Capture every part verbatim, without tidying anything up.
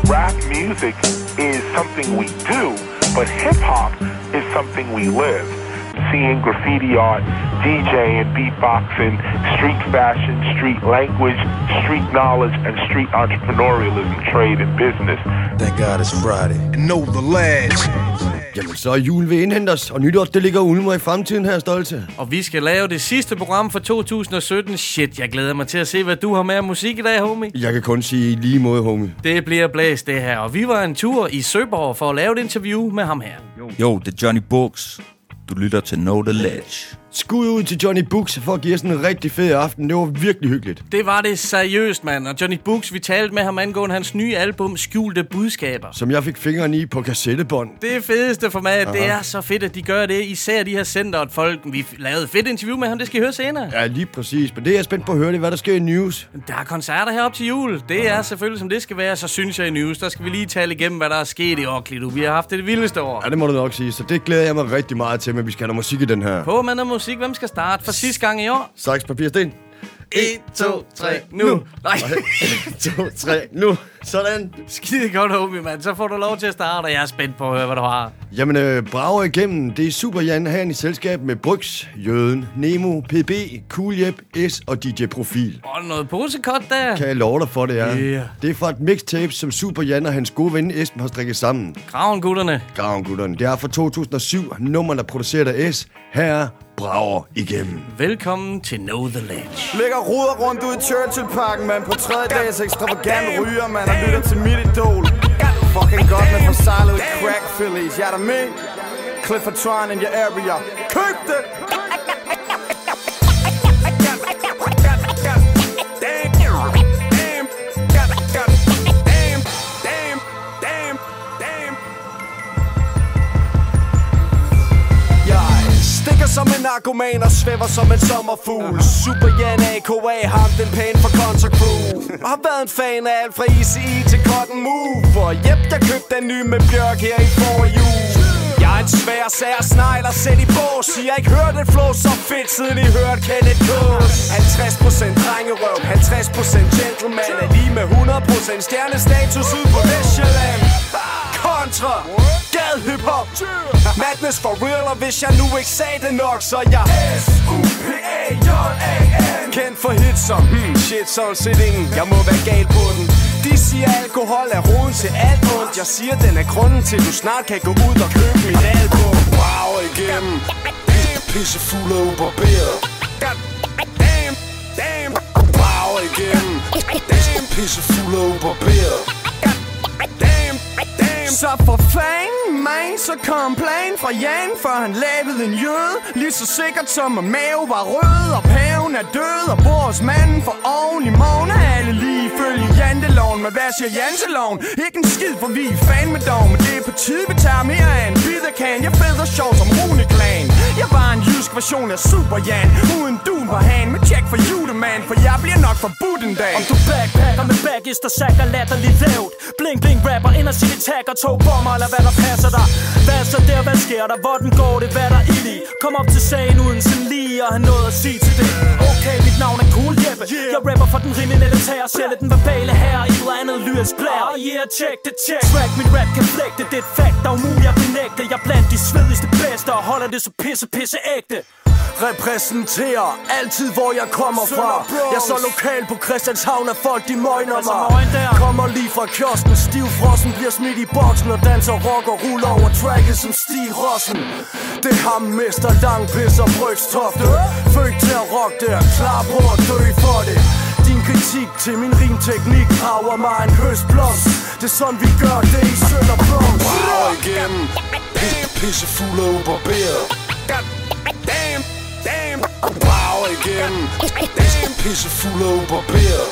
rap music is something we do, but hip-hop is something we live. Seeing graffiti art, DJing, beatboxing, street fashion, street language, street knowledge, and street entrepreneurialism, trade and business. Thank God it's Friday. And know the lads. Jamen, så er jul ved indhente os, og nytår, det ligger ulmer i fremtiden her, Stolte. Og vi skal lave det sidste program for to tusind og sytten. Shit, jeg glæder mig til at se, hvad du har med af musik i dag, homie. Jeg kan kun sige i lige måde, homie. Det bliver blæst, det her. Og vi var en tur i Søborg for at lave et interview med ham her. Jo, det er Johnny Books. Du lytter til Know The Ledge. Skud ud til Johnny Books for at give os en rigtig fed aften. Det var virkelig hyggeligt. Det var det seriøst, mand. Og Johnny Books, vi talte med ham angående hans nye album, Skjulte Budskaber. Som jeg fik fingrene i på kassettebånd. Det fedeste for mig, at det er så fedt, at de gør det. Især de her center, at folk... Vi lavede et fedt interview med ham, det skal I høre senere. Ja, lige præcis. Men det er jeg spændt på at høre, det hvad der sker i news. Der er koncerter herop til jul. Det er selvfølgelig, som det skal være. Så synes jeg i news, der skal vi lige tale igennem, hvad der er sket i Orkli. Vi har haft det, det vildeste år. Ja, det må du nok sige. Så det glæder jeg mig rigtig meget til, men vi skal have noget musik i den her. På med noget musik. Hvem skal starte for sidste gang i år? Saks, papir, sten. et, to, tre, nu. Nej. et, to, tre, nu. Sådan. Skide godt, homie, mand. Så får du lov til at starte, og jeg er spændt på at høre, hvad du har. Jamen, øh, brager igennem. Det er Super Jan her i selskab med Bryx, Jøden, Nemo, P B, Cool Jep, S og D J Profil. Og noget posekot der. Kan jeg love dig for, det er. Yeah. Det er fra et mixtape, som Super Jan og hans gode ven Esben har strikket sammen. Graven-gutterne. Graven-gutterne. Det er fra to tusind og syv. Nummerne er produceret af S. Her er brager igennem. Velkommen til Know The Ledge. Ligger ruder rundt ud i Churchill-parken, man. På tredje dags ekstravagant ryger, man. Og lytter til mit idol. Fucking godt med forsejlede crack fillies. Jeg er der med. Clifford Tron in your area. Køb det! Som en narkoman og svæver som en sommerfugl. Super Jan A K A, ham den pæne for Contra Crew. Og har været en fan af alt fra E C E til Cotton Move. Og jep, jeg købte den nye med Bjørk her i forrige jul. Jeg er en svær sær snegler sæt i bås. I har ikke hørt et flow så fedt, siden I hørte Kenneth Kås. halvtreds procent drengerøv, halvtreds procent gentleman. Er lige med hundrede procent stjernestatus ud på Vestjylland. Contra, gad hiphop, madness for real. Og hvis jeg nu ikke sagde det nok, så jeg S U P A J A N. Kendt for hits som hmm, shit, sådan set ingen. Jeg må være gal på den. De siger alkohol er roden til alt ondt. Jeg siger den er grunden til du snart kan gå ud og købe mit album. Wow igennem, pisse fuld og ubarberet. God damn, damn. Wow igennem, pisse fuld og ubarberet. Damn, damn. Så for fanden, man, så kom plan fra Jan, før han lavede en jøde. Lige så sikkert som at mave var rød, og paven er død, og bor hos manden for oven i morgen. Er alle lige ifølge janteloven, men hvad siger janteloven? Ikke en skid, for vi er fan med dog, men det er på tide, vi tager mere af en bidderkan. Jeg feder sjov som Rune-klan. Jeg var en jysk version af Super Jan, uden dun på hand, med check for julemand, for jeg bliver nok forbudt en dag. Om du backpacker med baggister, sakker latterligt lavt. Bling bling rapper ind og sig det tagger, to bomber eller hvad der passer dig. Hvad så der, hvad sker der, hvordan går det, hvad der ild i? Kom op til sagen uden sådan lige at have noget at sige til det. Okay, mit navn er Cool Jeppe. Jeg rapper for den kriminelle tager, sælger den verbale her i et eller andet lyrisk blær. Oh yeah, check det, check. Track, mit rap kan flægte, det er et fact, der er umuligt at benægte. Jeg er blandt de svedigste bedste og holder det så pisse, pisse ægte. Repræsenterer altid hvor jeg kommer fra. Jeg er så lokal på Christianshavn, at folk de møgner mig. Kommer lige fra kiosken, stiv frossen, bliver smidt i boksen og danser rock og ruller over tracket som Stig Rossen. Det er ham, mester Langpiss og Brygstofte. Født til at rock der, klar på at dø for det. Din kritik til min rimteknik rager mig en høstblomst. Det er sådan vi gør det i Sønderblomst. Wow igennem, pisse fuld og ubarberet. Damn, damn. Wow igennem, pisse fuld og ubarberet.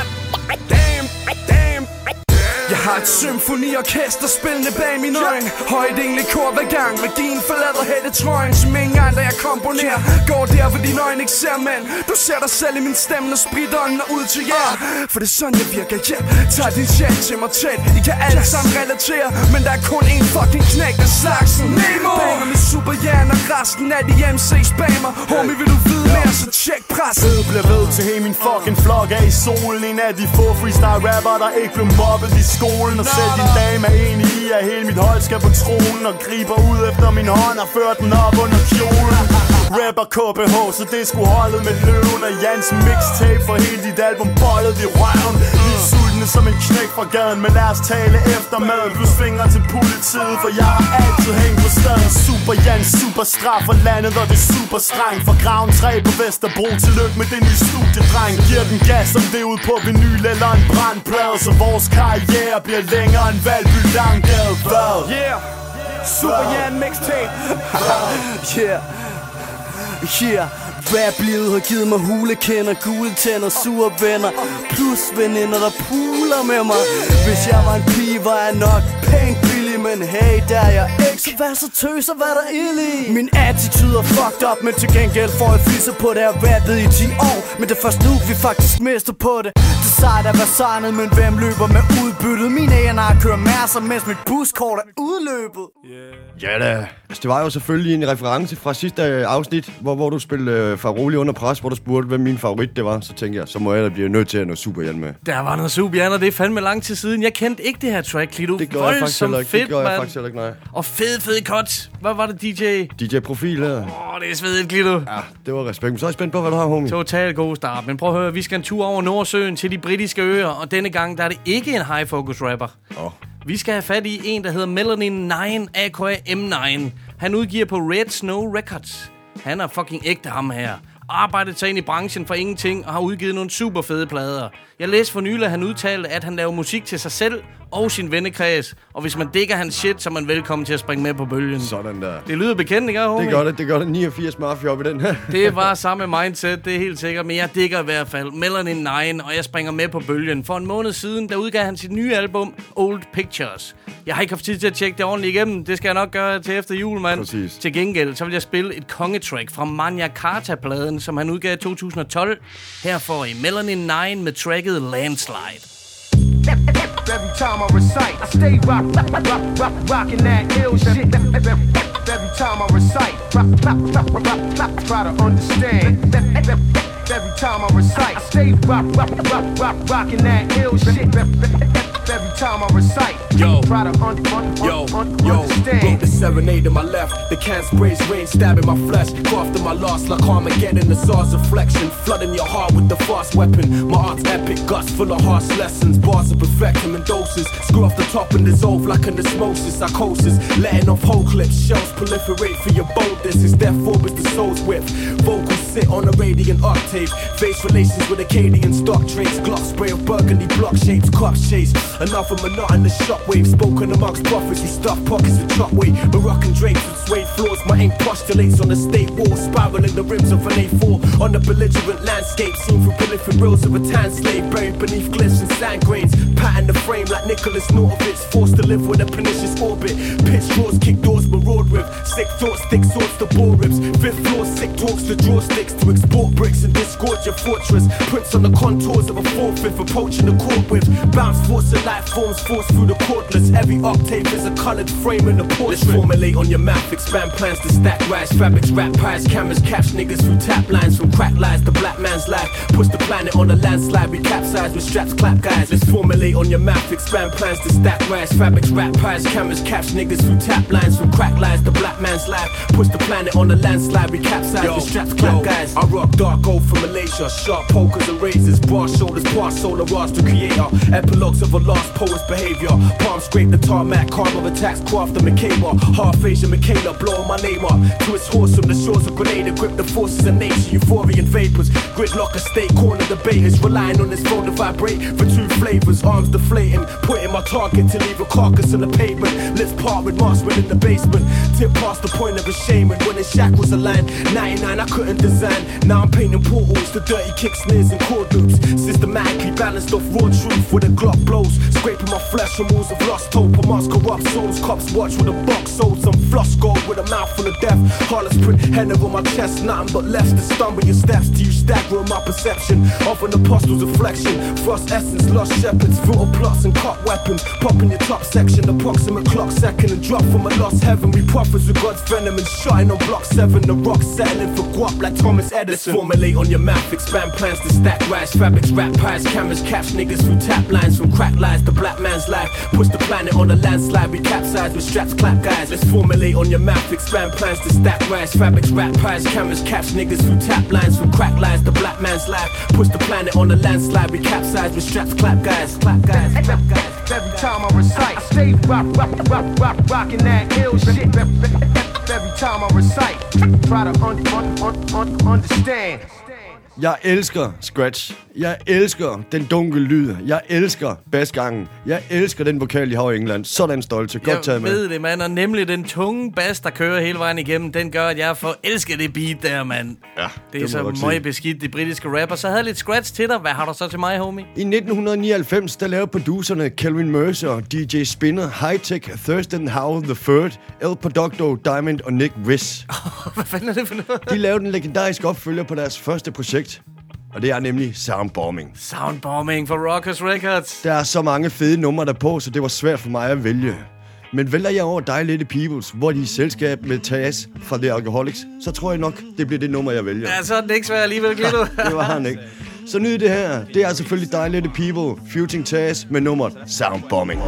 Damn, damn. Jeg har et symfoniorkester spillende bag min øjne. Højt egentlig kor hver gang med din forlader hættetrøjen. Som ingen andre jeg komponerer. Går der hvor dine øjne ikke ser, mand. Du ser dig selv i min stemme og spritter øjnene ud til jer. For det er sådan jeg virker, ja. Tag din chat til mig tæt. I kan alle sammen relatere, men der er kun en fucking knæk af slagsen. Nemo! Banger med Super Jan og resten af de M C spammer. Homie, vil du vide mere, så tjek pres. Ved bliver ved til hele min fucking flok er i solen. En af de få freestyle rapper, der ikke blev mobbet i skolen. Og selv din dame er enig i, at hele mit hold skal på tronen. Og griber ud efter min hånd og fører den op under kjolen. Rapper K B H, så det skulle holdet med løven. Og Jans mixtape for hele dit album bollet i røven. Vi er sultne som en knæk fra gaden, men lad os tale efter maden. Plus fingre til politiet, for jeg har altid hængt på stedet. Super Jan, super straf for landet, og det er super strengt. For graven tre på Vesterbro, tillykke med den nye studiedreng. Giver den gas som det ud på vinyl eller en brandplade, så vores karriere bliver længere end Valby Langgade. Hvad? Yeah, Super Jan mixtape. Yeah. Yeah, rap-livet har givet mig hulekender, gule tænder, sure venner, plus veninder, der puler med mig. Hvis jeg var en pige, var jeg nok pænt billig, men hey, der er jeg ikke, så vær så tøs og hvad der ild i. Min attitude er fucked up, men til gengæld får jeg fisser på det, jeg rappet i ti år. Men det er først nu, vi faktisk mister på det. Det sejt at være signet, men hvem løber med udbyttet? Mine A and R kører masser, mens mit buskort er udløbet. Ja da, altså, det var jo selvfølgelig en reference fra sidste afsnit, hvor, hvor du spillede øh, Faroli under pres, hvor du spurgte, hvem min favorit det var. Så tænkte jeg, så må jeg da blive nødt til at noget Super Jan med. Der var noget Super Jan, og det er fandme lang tid siden. Jeg kendte ikke det her track, Klito. Det gør jeg faktisk heller ikke, fedt, det gør jeg man. faktisk heller ikke, nej. Og fed, fed cut. Hvad var det, D J? D J-profil her. Åh, oh, det er svedigt, Klito. Ja, det var respekt. Men så er jeg spændt på, hvad du har, homie. Total god start. Men prøv at høre, vi skal en tur over Nordsøen til de britiske øer, og denne gang der er det ikke en high-focus rapper. Åh. Oh. Vi skal have fat i en, der hedder Melanin nine, a k a. M nine. Han udgiver på Red Snow Records. Han er fucking ægte, ham her. Arbejdet sig ind i branchen for ingenting og har udgivet nogle super fede plader. Jeg læste for nylig, at han udtalte, at han laver musik til sig selv og sin vennekreds. Og hvis man digger hans shit, så er man velkommen til at springe med på bølgen. Sådan der. Det lyder bekendt, ikke, homie? Det gør det, det gør det. niogfirs Mafia op i den her. Det var samme mindset, det er helt sikkert. Men jeg digger i hvert fald Melanin nine, og jeg springer med på bølgen. For en måned siden, der udgav han sit nye album, Old Pictures. Jeg har ikke haft tid til at tjekke det ordentligt igennem. Det skal jeg nok gøre til efter jul, mand. Præcis. Til gengæld, så vil jeg spille et kongetrack fra Magna Carta-pladen, som han udgav i to tusind og tolv. Her får I Melanin nine med tracket Landslide. Every time I recite, I stay rock, rock, rock, rock, rockin' that ill shit. Every time I recite, rock, rock, rock, rock, rock, try to understand. Every time I recite, I stay rock, rock, rock, rock, rockin' that ill shit. Every time I recite, yo, try to un- un- yo, un- yo, understand. Wrote the serenade to my left, the can sprays rain stabbing my flesh. Coughed in my loss like Armageddon, the Tsar's reflection, flooding your heart with the fast weapon. My art's epic, guts full of harsh lessons, bars of perfection in doses. Screw off the top and dissolve like an osmosis, psychosis, letting off whole clips, shells proliferate for your boldness. It's therefore is the soul's width. Vocals sit on a radiant octave, face relations with Acadian stock traits, Glock spray of burgundy block shapes, cops chase. Enough of monotonous shockwave spoken amongst prophets who stuff pockets with chalk weight. Moroccan drapes with suede floors. My ink postulates on the state wall, spiraling the rims of an A four on the belligerent landscape seen through prolific reels of a tan slave buried beneath glyphs and sand grains. Pattern the frame like Nicholas Nortovitz, forced to live with a pernicious orbit. Pitch draws, kick doors, maraud with sick thoughts, thick swords to bore ribs. Fifth floor, sick talks to draw sticks to export bricks and disgorge your fortress. Prints on the contours of a four-fifth approaching the court with bounce force of life forms force through the cordless. Every octave is a colored frame in the portrait. Let's formulate on your mouth, expand plans to stack rise. Fabrics, rap pies, cameras catch niggas through tap lines. From crack lies to black man's life. Push the planet on a landslide, we capsize with straps clap guys. Let's formulate on your mouth, expand plans to stack rise. Fabrics, rap pies, cameras catch niggas through tap lines. From crack lies to black man's life. Push the planet on a landslide, we capsize yo, with straps clap yo, guys. I rock dark gold from Malaysia, sharp pokers and razors, broad shoulders, past solar rocks to creator. Epilogues of a lost poet's behavior. Palm scrape the tarmac, karma attacks, craft the Macabre. Half Asian Michaela, blowing my name up. To its horse from the shores of Grenada, grip the forces of nature, euphorian vapors. Gridlock a state, corner debaters, relying on this phone to vibrate for two flavors. Arms deflating, putting my target to leave a carcass on the pavement. Lips part with Marsman in the basement. Tip past the point of a shame, and when his shackles aligned, ninety-nine I couldn't design. Now I'm painting portals, the dirty kick snares and chord loops. Systematically balanced off raw truth with a Glock blows. Scraping my flesh from walls of lost hope. Amongst corrupt souls, cops watch with a box sold. Some floss gold with a mouth full of death. Harlot's print, head over my chest, nothing but left to stumble your steps. Do you stagger in my perception? perception of an apostle's reflection. Frost essence, lost shepherds, brutal plots and cop weapons. Pop in your top section, approximate clock second, and drop from a lost heaven. We prophets with God's venom and shine on block seven. The rock settling for guap like Thomas Edison. Let's formulate on your map, expand plans to stack rise. Fabrics, rap pies, cameras, catch niggas through tap lines. From crack lies to black man's life. Push the planet on a landslide, we capsize with straps, clap guys. Let's formulate on your map, expand plans to stack rise. Fabrics, rap pies, cameras, catch niggas through tap lines. From crack lies to black man's life. Push the planet on a landslide, we capsize with straps, clap guys, clap guys, clap guys. Every time I recite, I stay rock, rock, rock, rock, rockin' that ill shit. Every time I recite, try to un- un- un- un- understand. Jeg elsker scratch. Jeg elsker den dunkle lyd. Jeg elsker bassgangen. Jeg elsker den vokal, de har i England. Sådan stolte. Godt taget med. Jeg ved det, mand. Og nemlig den tunge bass, der kører hele vejen igennem, den gør, at jeg forelsker det beat der, mand. Ja, det, det er så meget beskidt, de britiske rapper. Så havde jeg lidt scratch til dig. Hvad har du så til mig, homie? I nitten nioghalvfems, der lavede producerne Kelvin Mercer, D J Spinner, Hi-Tech, Thurston Howell the Third, El Producto, Diamond og Nick Wiss. Hvad fanden er det for noget? De lavede en legendarisk opfølger på deres første projekt. Og det er nemlig Soundbombing. Soundbombing for Rockers Records. Der er så mange fede numre der på, så det var svært for mig at vælge. Men vælger jeg over Die Little Peoples, hvor de er i selskab med Taz fra The Alcoholics, så tror jeg nok, det bliver det nummer, jeg vælger. Ja, så er det ikke svært alligevel, Glitto. Det var han ikke. Så nyd det her. Det er selvfølgelig Die Little People, featuring Taz med nummeret Soundbombing.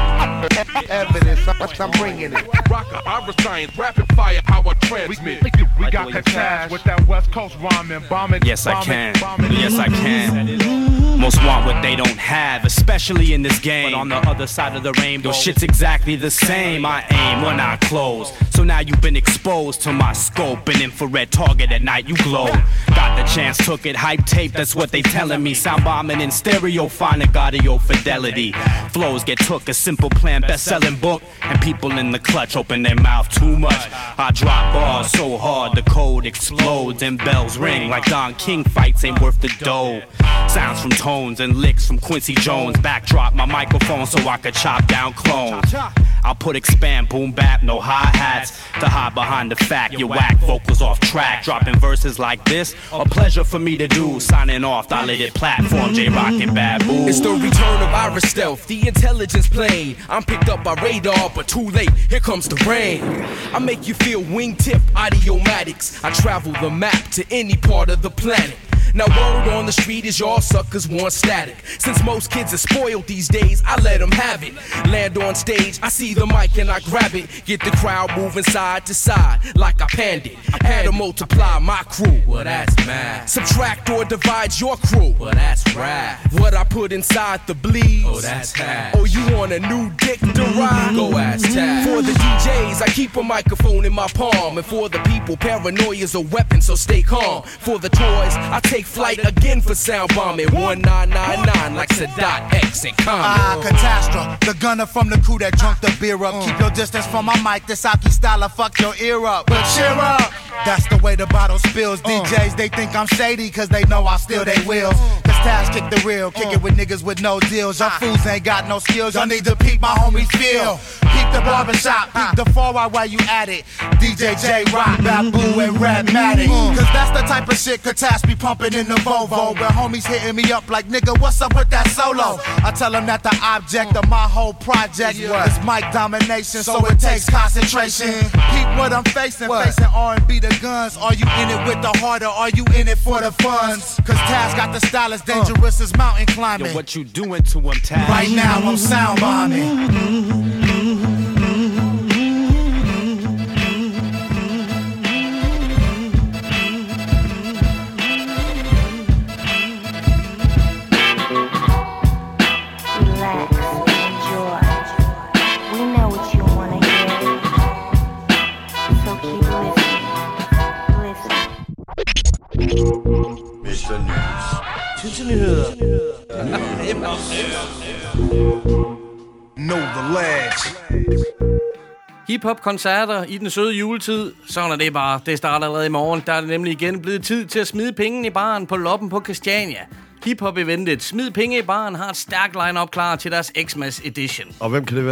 Evidence, I'm bringing it. Rocker, Ira science, rapid fire, how I transmit. We, we got Kataz with that West Coast rhyming, bombing. Yes, I can. Yes, I can. Most want what they don't have, especially in this game. But on the other side of the rainbow, shit's exactly the same. I aim when I close. So now you've been exposed to my scope. An infrared target at night, you glow. Got the chance, took it, hype tape, that's what they telling me. Sound bombing in stereo, finding audio fidelity. Flows get took, a simple plan, best-selling book. And people in the clutch open their mouth too much. I drop bars so hard, the code explodes and bells ring. Like Don King fights ain't worth the dough. Sounds from tones and licks from Quincy Jones. Backdrop my microphone so I could chop down clones. I'll put expand, boom bap, no hi-hats to hide behind the fact you whack vocals off track. Dropping verses like this, a pleasure for me to do. Signing off, dilated platform, J-Rock and Babu. It's the return of Ira Stealth, the intelligence plane. I'm picked up by radar, but too late, here comes the rain. I make you feel wingtip audiomatics. I travel the map to any part of the planet. Now word on the street is y'all suckers want static. Since most kids are spoiled these days, I let them have it. Land on stage, I see the mic and I grab it. Get the crowd moving side to side like I panned it. Add or multiply my crew, well that's mad. Subtract or divide your crew, well that's rad. What I put inside the bleeds, oh that's hash. Oh you want a new dick to ride? Go ask Taz. For the D Js, I keep a microphone in my palm. And for the people, paranoia's a weapon, so stay calm. For the toys, I take flight again for sound bombing. one nine nine nine like Sadat X and Common. Ah, Catastrophe, the gunner from the crew that drunk the beer up. Keep your distance from my mic, this Aki style, I fuck your ear up. But cheer up, that's the way the bottle spills. D Js, they think I'm shady, cause they know I steal they wheels. Cause Tash kick the real, kick it with niggas with no deals. Y'all fools ain't got no skills, y'all need to peep my homies feel. Peep the barbershop, peep the four while while you at it. D J J-Rock, Babu, and Radmatic. Cause that's the type of shit Catastrophe pumping in the Volvo. Where homies hitting me up like, nigga, what's up with that solo? I tell them that the object of my whole project is mic domination, so it takes concentration. Peep what I'm facing, facing R and B the guns. Are you in it with the heart or are you in it for the funds? Cause Taz got the style as dangerous as mountain climbing. Yo, what you doing to him, Taz? Right now I'm sound bombing. mister News. Tidsnyheder. Know the lads. Hip-hop-koncerter i den søde juletid. Sådan er det bare. Det starter allerede i morgen. Der er det nemlig igen blevet tid til at smide penge i baren på Loppen på Christiania. Hip-hop-eventet Smid Penge i Baren har et stærkt line-up klar til deres Xmas Edition. Og hvem kan det være?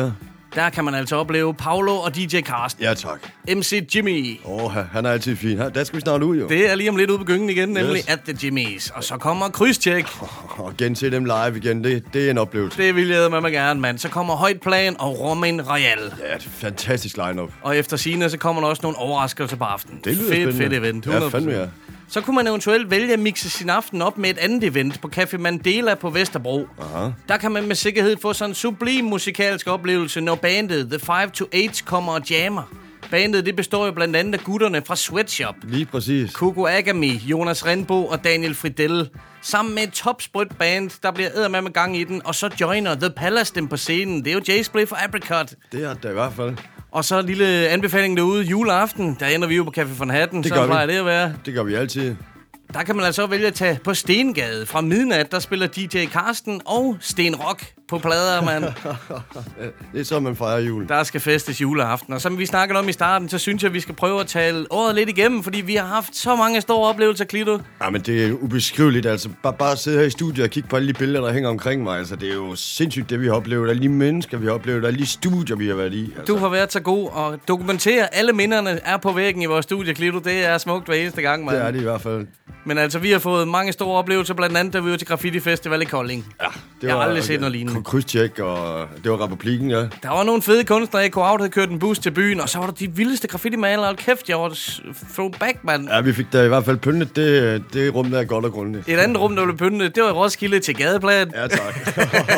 der kan man altså opleve Paolo og D J Karsten. Ja, tak. M C Jimmy. Åh, oh, han er altid fin. Der skal vi snart ud, jo. Det er lige om lidt ude på gyngen igen, nemlig Yes. at the Jimmys. Og så kommer krydstjek. Og gense dem live igen, det, det er en oplevelse. Det vil jeg med mig gerne, mand. Så kommer Højt Plan og Romain Royal. Ja, det er et fantastisk line-up. Og efter sigende, så kommer der også nogle overraskelser på aftenen. Det lyder fedt, spændende. fedt event. hundrede procent. Ja, fandme ja. Så kunne man eventuelt vælge at mixe sin aften op med et andet event på Café Mandela på Vesterbro. Aha. Der kan man med sikkerhed få sådan en sublim musikalsk oplevelse, når bandet The five to eight kommer og jammer. Bandet det består jo blandt andet af gutterne fra Sweatshop. Lige præcis. Kuko Agami, Jonas Renbo og Daniel Fridell. Sammen med et topsprødt band, der bliver eddermame gang i den. Og så joiner The Palace dem på scenen. Det er jo J-Split for Apricot. Det er det i hvert fald. Og så en lille anbefaling derude. Juleaften, der ender vi jo på Café von Hatten. Det så gør plejer vi. det at være. Det gør vi altid. Der kan man altså vælge at tage på Stengade fra midnat. Der spiller D J Karsten og Sten Rock på plader, mand. Det er så, man fejrer jul. Der skal festes juleaften. Og som vi snakkede om i starten, så synes jeg, at vi skal prøve at tale året lidt igennem, fordi vi har haft så mange store oplevelser, Klito. Ja, men det er ubeskriveligt, altså. Bare, bare sidde her i studiet og kigge på alle de billeder, der hænger omkring mig. Altså, det er jo sindssygt, det vi har oplevet. Alle de mennesker, vi har oplevet. Alle de studier, vi har været i. Altså. Du har været så god og dokumentere. Alle minderne er på væggen i vores studie, Klito. Det er smukt hver eneste gang, mand. Det er det i hvert fald. Men altså, vi har fået mange store oplevelser, blandt andet, da vi var til Graffiti Festival i Kolding. Ja, det jeg var, har aldrig set noget lignende. Krydstjek, og det var Republikken, ja. Der var nogle fede kunstnere, A K Out havde kørt en bus til byen, og så var der de vildeste graffiti-malere. Hold kæft, jeg var throwback, mand. Ja, vi fik da i hvert fald pyntet. Det, det rum, der er godt og grundigt. Et andet rum, der blev pyntet, det var i Roskilde til Gadeplan. Ja, tak.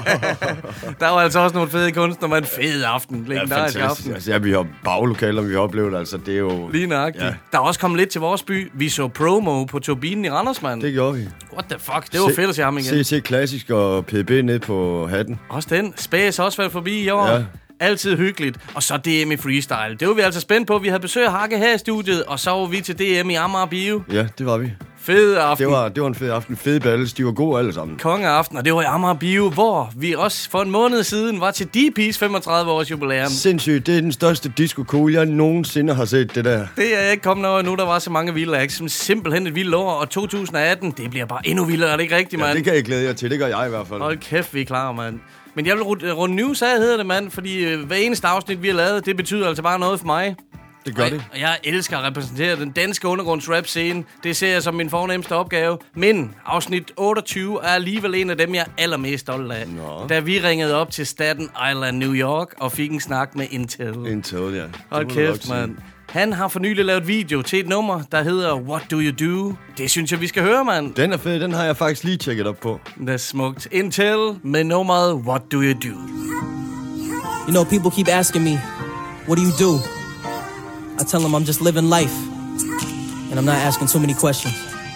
Der var altså også nogle fede kunstnere med en fed aften. Ja, Legendarisk fantastisk. aften. Altså, ja, vi har baglokaler, vi har oplevet, altså, det er jo... Lige nøjagtigt. Ja. Der er også kommet lidt til vores by. Vi så promo på Turbinen i Randers, mand. Det gjorde vi. What the fuck? Det var Se, fedt at se ham igen. C C Klassisk og P D B ned på hatten. Også den. Space også været forbi i år. Ja. Altid hyggeligt. Og så D M i freestyle. Det var vi altså spændt på. Vi havde besøg af Hakke her i studiet, og så var vi til D M i Amager Bio. Ja, det var vi. Fed aften. Det var, det var en fed aften. Fede battles. De var gode alle sammen. Kongeaften, og det var i Amager Bio, hvor vi også for en måned siden var til D P's femogtredive års jubilæum. Sindssygt. Det er den største disco-cool, jeg nogensinde har set, det der. Det er ikke kommet over endnu. Der var så mange vilde acts. Som simpelthen et vildt år. Og to tusind atten, det bliver bare endnu vildere. Er det ikke rigtigt, mand? Ja, det kan jeg glæde jer til. Det gør jeg i hvert fald. Hold kæft, vi er klar, mand. Men jeg vil runde news af, hedder det, mand. Fordi øh, hver eneste afsnit, vi har lavet, det betyder altså bare noget for mig. Det gør og det. Og jeg elsker at repræsentere den danske undergrunds-rap-scene. Det ser jeg som min fornemmeste opgave. Men afsnit otteogtyve er alligevel en af dem, jeg er allermest stolt af. Nå. Da vi ringede op til Staten Island, New York, og fik en snak med Intel. Intel, ja. Hold kæft, mand. Han har for nylig lavet video til et nummer, der hedder What Do You Do? Det synes jeg, vi skal høre, mand. Den er fed. Den har jeg faktisk lige tjekket op på. Det er smukt. Intel med nummeret What Do You Do? You know, people keep asking me, what do you do? I tell them I'm just living life, and I'm not asking too many questions.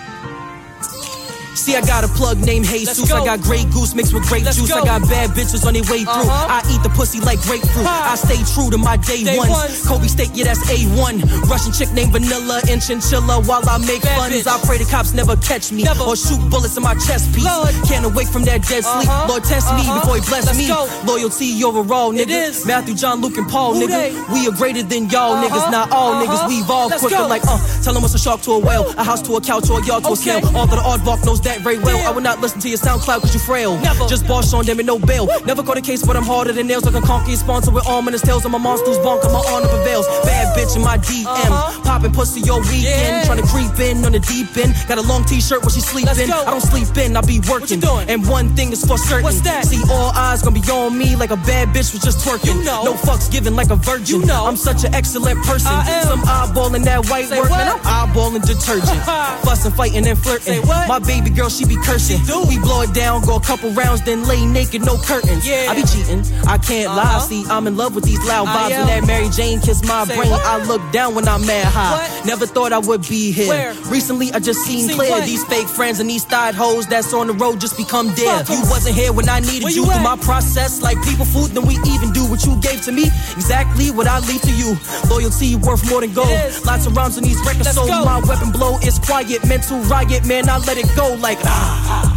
See, I got a plug named Jesus. I got Grey Goose mixed with grape Let's juice. Go. I got bad bitches on their way through. Uh-huh. I eat the pussy like grapefruit. Ha. I stay true to my day, day ones. ones. Kobe steak, yeah, that's A one. Russian chick named Vanilla and Chinchilla while I make bad funds. Bitch. I pray the cops never catch me never. Or shoot bullets in my chest piece. Lord. Can't awake from that dead sleep. Uh-huh. Lord, test uh-huh. me before he bless Let's me. Go. Loyalty overall, nigga. Matthew, John, Luke, and Paul, Who nigga. They? We are greater than y'all, uh-huh. niggas. Not all uh-huh. niggas. We evolve Let's quicker go. Like, uh, tell them what's a shark to a whale. A house to a couch or a yard to okay. a snail. Although the aardvark knows that very well. Yeah. I would not listen to your SoundCloud cause you frail. Never. Just boss on them and no bail. Woo. Never got a case but I'm harder than nails. Like a conky sponsor with arm in his tails. I'm a monster's bonk, I'm my honor prevails. Bad bitch in my D M. Uh-huh. Popping pussy your weekend. Yeah. Trying to creep in on the deep end. Got a long t-shirt when she sleeping. I don't sleep in, I be working. And one thing is for certain. What's that? See, all eyes gonna be on me like a bad bitch was just twerking. You know. No fucks given like a virgin. You know. I'm such an excellent person. Some eyeballing that white Say work. What? Man, I'm eyeballing detergent. Fussing, fighting, and flirting. My baby girl, she be cursing. We blow it down, go a couple rounds, then lay naked, no curtains. Yeah. I be cheating, I can't uh-huh. lie. See, I'm in love with these loud vibes. When that Mary Jane kiss my Say brain, what? I look down when I'm mad high. What? Never thought I would be here. Where? Recently, I just seen, seen clear. What? These fake friends and these thighed hoes that's on the road just become dead. You wasn't here when I needed Where you. you through my process, like people food, then we even do what you gave to me. Exactly what I leave to you. Loyalty worth more than gold. Lots of rounds on these records, Let's so go. My weapon blow is quiet. Mental riot, man, I let it go like ah.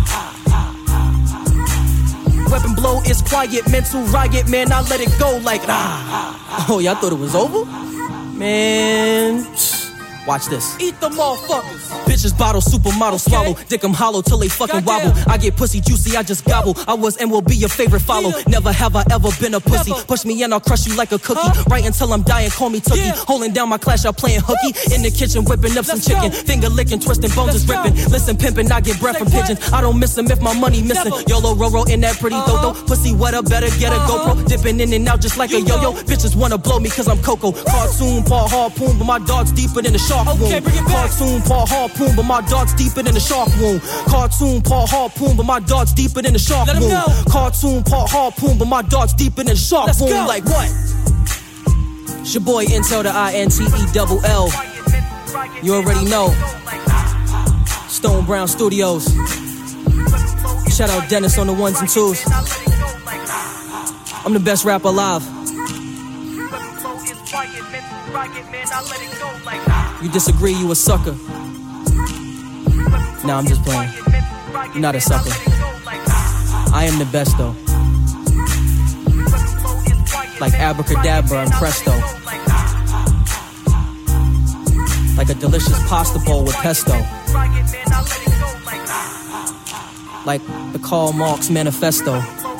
Weapon blow is quiet, mental riot, man, I let it go like ah. Oh, y'all thought it was over? Man, Watch this. Eat the motherfuckers. Bitches bottle, supermodel okay. swallow. Dick 'em hollow till they fucking Goddamn. wobble. I get pussy juicy, I just gobble. I was and will be your favorite follow. Yeah. Never have I ever been a pussy. Never. Push me and I'll crush you like a cookie. Huh? Right until I'm dying, call me Tookie. Yeah. Holding down my clash, I'm playing hooky. Woo. In the kitchen, whipping up Let's some chicken. Go. Finger licking, twisting, bones Let's is ripping. Go. Listen, pimping, I get breath Say from what? pigeons. I don't miss them if my money missing. Never. YOLO, Roro in that pretty uh-huh. dodo. Pussy wetter, better get a uh-huh. GoPro. Dipping in and out just like you a yo-yo. Know. Bitches wanna blow me cause I'm Coco. Woo. Cartoon, paw, harpoon, but my dog's deeper than the shark okay, wound. Bring it back. Cartoon, paw, harpoon, but my dog's deeper than the shark wound. Cartoon, paw, harpoon, but my dog's deeper than the shark Let wound. Cartoon, paw, harpoon, but my dog's deeper than the shark Let's wound. Go. Like what? It's your boy Intel, the I N T E double L. You already know. Stone Brown Studios. Shout out Dennis on the ones and twos. I'm the best rapper alive. You disagree, you a sucker. Nah, I'm just playing. You're not a sucker. I am the best though. Like abracadabra and presto. Like a delicious pasta bowl with pesto. Like the Karl Marx Manifesto.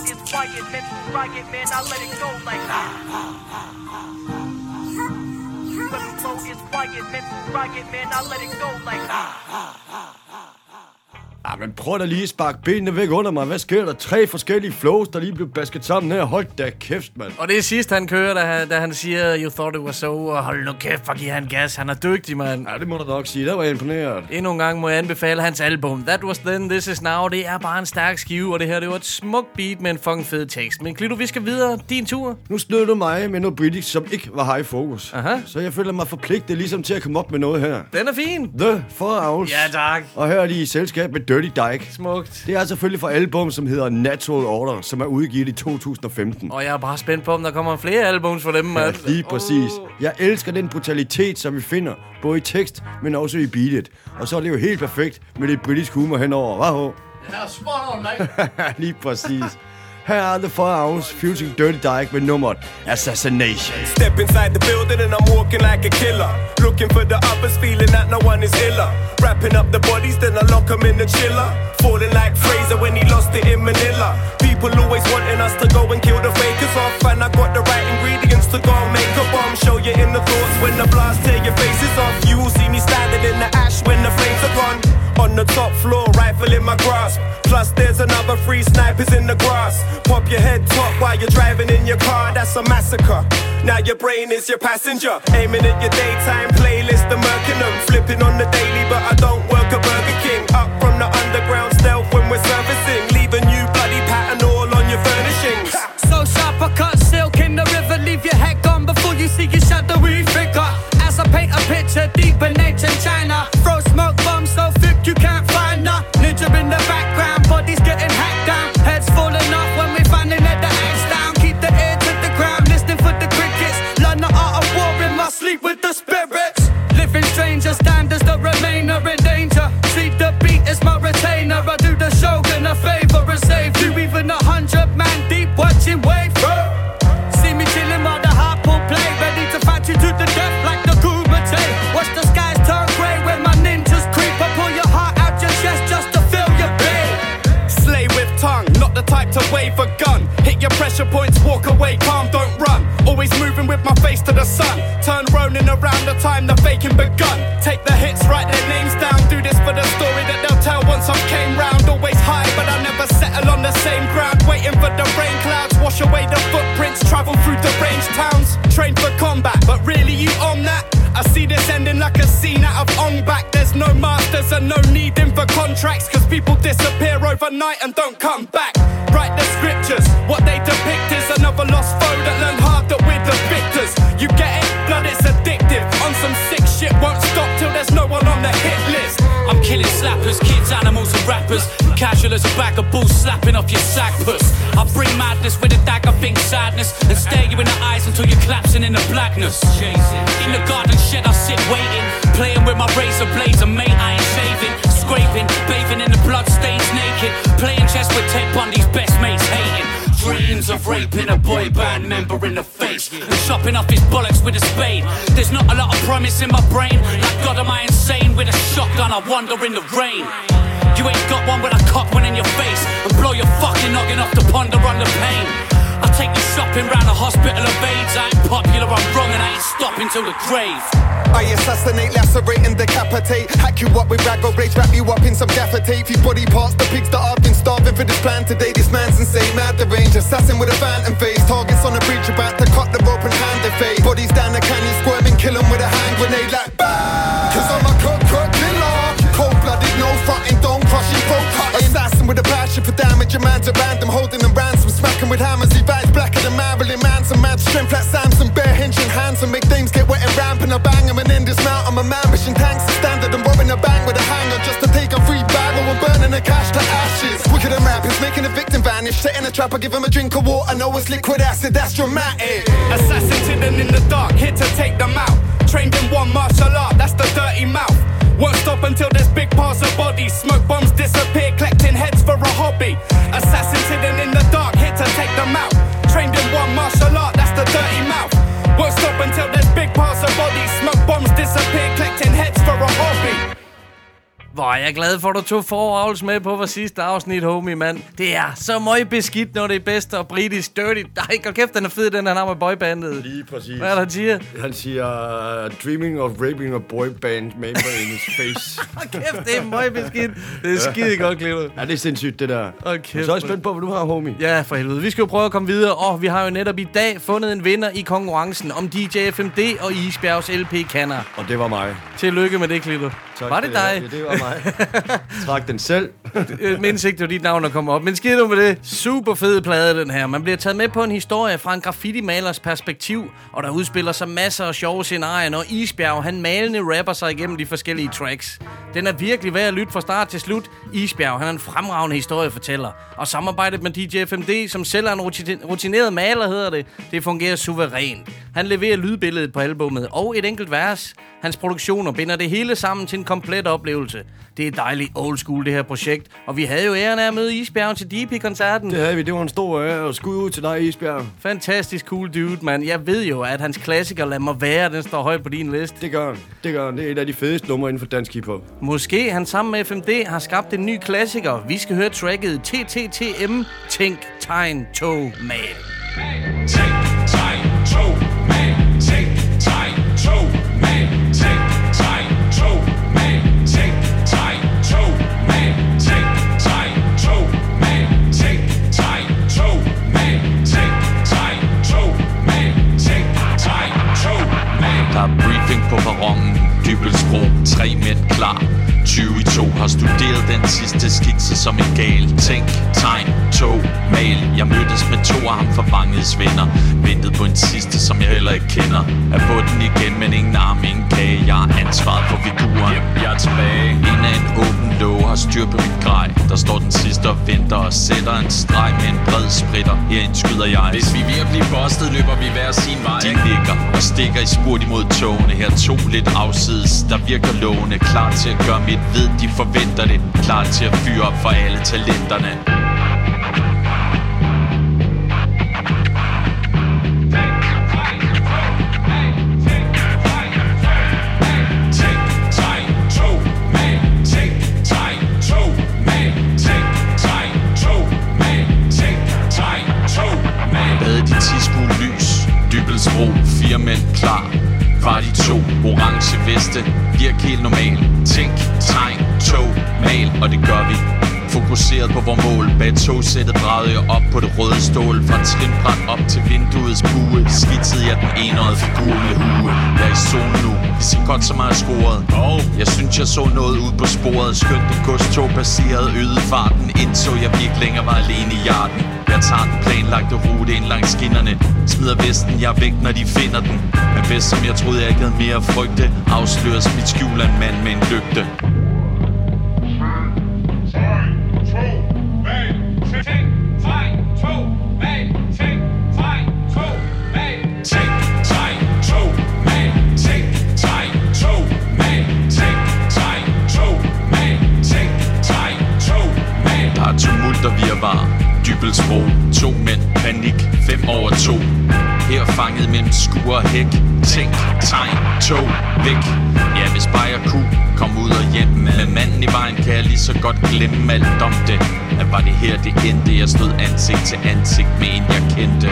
Ja, men prøv da lige at sparke benene væk under mig. Hvad sker der? Tre forskellige flows, der lige blev basket sammen her. Hold da kæft, mand. Og det er sidst, han kører, da han, da han siger, you thought it was so, og hold nu kæft, for giv han gas. Han er dygtig, mand. Ja, det må du nok sige. Der var jeg imponeret. Endnu en gang må jeg anbefale hans album. That Was Then, This Is Now. Det er bare en stærk skive, og det her, det var et smukt beat med en fucking fed tekst. Men Klito, vi skal videre. Din tur. Nu snød du mig med noget British, som ikke var high focus. Aha. Så jeg føler mig forpligtet ligesom til at komme op med noget her. Den er fin. The Four Owls. Ja, tak. Og her er de i selskab med Dirty Dyke. Smukt. Det er selvfølgelig fra album, som hedder Natural Order, som er udgivet i to tusind og femten. Og jeg er bare spændt på, om der kommer flere albums for dem, mand. Ja, lige præcis. Oh. Jeg elsker den brutalitet, som vi finder, både i tekst, men også i beatet. Og så er det jo helt perfekt med det britisk humor henover. Vaho? Ja, spot on, mate. Lige præcis. Her er The Four Owls featuring Dirty Dyke med nummeret Assassination. Step inside the building and I'm walking like a killer. Looking for the others, feeling that no one is iller. Wrapping up the bodies, then I lock them in the chiller. Falling like Fraser when he lost it in Manila. People always wanting us to go and kill the fakers off. And I got the right ingredients to go and make a bomb. Show you in the thoughts when the blast tear your faces off. You will see me standing in the ash when the flames are gone. On the top floor, rifle in my grasp. Plus there's another three snipers in the grass. Pop your head top while you're driving in your car, that's a massacre. Now your brain is your passenger. Aiming at your daytime playlist, the murking them. Flipping on the daily, but I don't work at Burger King. Up from the underground stealth when we're servicing. Leaving you bloody pattern all on your furnishings. So sharp I cut silk in the river. Leave your head gone before you see your shadowy figure. As I paint a picture deep in ancient China. Throw smoke bombs so thick you can't find her. Ninja in the background, bodies getting hacked down. Heads falling off when we finally let the axe down. Keep the ear to the ground, listening for the crickets. Learn the art of war in my sleep with the spirits. Living stranger, stand as the remainder in danger. See the beat is my retainer. I do the shogun a favor and save you. Even a hundred man deep watching wave through. See me chilling while the harpoon play. Ready to fight you to the death like the Kumite. Watch the skies turn grey when my ninjas creep. I pull your heart out your chest just to feel your pain. Slay with tongue, not the type to wave a gun. Hit your pressure points, walk away, calm, don't run. Always moving with my face to the sun. Turn Ronin around the time the faking begun. Take the hits, write their names down. Do this for the story that they'll tell once I came round. Always high, but I never settle on the same ground. Waiting for the rain clouds, wash away the footprints. Travel through the range towns. Train for combat, but really you on that? I see this ending like a scene out of On Back. There's no masters and no needing for contracts. Cause people disappear overnight and don't come back. Write the scriptures, what they depict is another lost foe that learned hard that we're the victors. You get it? Blood, it's addictive. On some sick shit, won't stop till there's no one on the hit list. I'm killing slappers, kids, animals and rappers. Casual as a bag of bulls slapping off your sack puss. I bring madness with a dagger, think sadness. And stare you in the eyes until you're collapsing in the blackness. In the garden shed I sit waiting. Playing with my razor blades and mate I ain't shaving. Scraping, bathing in the blood stains naked. Playing chess with Ted Bundy's best mates hating. dreams of raping a boy band member in the face and chopping off his bollocks with a spade. There's not a lot of promise in my brain. Like God, am I insane? With a shotgun, I wander in the rain. You ain't got one with a cock one in your face and blow your fucking noggin off to ponder on the pain. I'll take you shopping round a hospital of AIDS. I ain't popular, I'm wrong, and I ain't stopping till the grave. I assassinate, lacerate and decapitate. Hack you up with raggo blades, wrap you up in some gaffer tape. Few body parts, the pigs that I've been starving for this plan today. This man's insane, mad the range, assassin with a phantom face. Targets on the bridge, about to cut the rope and hand the fade. Bodies down the canyon, squirming, kill 'em with a hand grenade like BAM! Cause I'm a cook, cook, killer. Cold-blooded, no fronting, don't crushing, throat cutting. Assassin with a passion for damage, your man's a random, holding them ransom. Smacking with hammers, he vibes blacker than Marilyn Manson. Mad strength like Samson, bare hinging hands and make dames get wet and ramping. I bang him and in this mount, I'm a man wishing tanks to standard and robbing a bang with a hanger just to take a free barrel and burning the cash to ashes. Quicker than rappers, making a victim vanish. Setting a trap, I give him a drink of water, know it's liquid acid, that's dramatic. Assassin hidden in the dark, here to take them out. Trained in one martial art, that's the dirty mouth. Won't stop until there's big piles of bodies. Smoke bombs disappear, collecting heads for a hobby. Assassins hidden in the dark, here to take them out. Trained in one martial art, that's the dirty mouth. Won't stop until there's big piles of bodies. Smoke bombs disappear, collecting heads for a hobby. Hvor er jeg glad for, at du tog foravls med på vores sidste afsnit, homie, mand. Det er så meget beskidt, når det er bedst og britisk dirty. Nej, hold kæft, den er fed, den han har med boybandet. Lige præcis. Hvad er der, han siger? Han siger, dreaming of raping a boyband member in his face. Hold kæft, det er meget beskidt. Det er skide godt, Cleo. Ja, det er sindssygt, det der. Okay. Så er jeg spændt på, hvad du har, homie. Ja, for helvede. Vi skal jo prøve at komme videre, og vi har jo netop i dag fundet en vinder i konkurrencen om D J F M D og Isbjergs L P-kanner. Og det var mig. Tillykke med det, Cleo. Var det dig? Ja, det var mig. Trak den selv. Mindst ikke, det var dit navn, der kommer op. Men skidt nu med det. Super fed plade, den her. Man bliver taget med på en historie fra en graffiti-malers perspektiv, og der udspiller sig masser af sjove scenarier, når Isbjerg, han malende rapper sig igennem de forskellige tracks. Den er virkelig værd at lytte fra start til slut. Isbjerg, han er en fremragende historiefortæller. Og samarbejdet med D J F M D, som selv er en rutineret maler, hedder det, det fungerer suverænt. Han leverer lydbilledet på albumet og et enkelt vers. Hans produktioner binder det hele sammen til en komplet oplevelse. Det er dejligt old school, det her projekt. Og vi havde jo æren af at møde Isbjerg til D P-koncerten. Det havde vi. Det var en stor ære. Og skud ud til dig, Isbjerg. Fantastisk cool dude, mand. Jeg ved jo, at hans klassiker Lad mig være, den står højt på din liste. Det gør han. Det gør han. Det er et af de fedeste numre inden for dansk hiphop. Måske han sammen med F M D har skabt en ny klassiker. Vi skal høre tracket T T T M. Tænk, tegn, tog, mal. Tænk, tegn, tog, mal. Tænk, tegn, tog, mal. Tænk, tegn, tog, mal. Tænk, tegn, tog, mal. Tænk, tegn, tog, mal. Tænk, tegn, tog, mal. Tænk, tegn, tog, mal. Tænk, tegn, tog, mal. Der er briefing på perronen. Dybelsbro, tre mænd klar. tyve i to har studeret den sidste skitse som en gal. Tænk, tegn, tog, mal. Jeg mødtes med to af ham forvangets venner. Ventede på en sidste, som jeg heller ikke kender. Er på den igen, men ingen arm, ingen kage. Jeg har ansvaret for figuren. Yep, jeg er tilbage. En af en åben låge har styr på mit grej. Der står den sidste og venter og sætter en streg med en bred spritter. Herind skyder jeg. Hvis vi er ved at blive bustet, løber vi hver sin vej. De nikker og stikker i spurt imod togene. Her to lidt afsides, der virker lovende. Klar til at gøre mit ved, de forventer det. Klar til at fyre op for alle talenterne. Dybelsbro, fire mænd klar. Var de to, orange veste, virk helt normal. Tænk, tegn, tog, mal, og det gør vi. Fokuseret på vores mål. Bag togsættet drejede jeg op på det røde stål. Fra trinbræt op til vinduets bue skitsede jeg den enøjede figur med hue. Jeg er i zone nu, det ser godt som jeg har scoret. Jeg synes jeg så noget ud på sporet. Skønt det godstog passerede, øgede farten. Indså jeg virkelig længere var alene i hjerten. Jeg tager den planlagte rute ind langs skinnerne. Smider vesten, jeg er væk når de finder den. Men bedst som jeg troede jeg ikke havde mere at frygte. Afsløres mit skjul af en mand med en lygte. Tumult og virvar, dyb Dybelsbro. To mænd, panik, fem over to. Her fanget mellem skur og hæk. Tænk, tegn, tog, væk. Ja, hvis bare jeg kunne komme ud og hjem. Med manden i vejen kan jeg lige så godt glemme alt om det. At var det her det endte. Jeg stod ansigt til ansigt med en jeg kendte.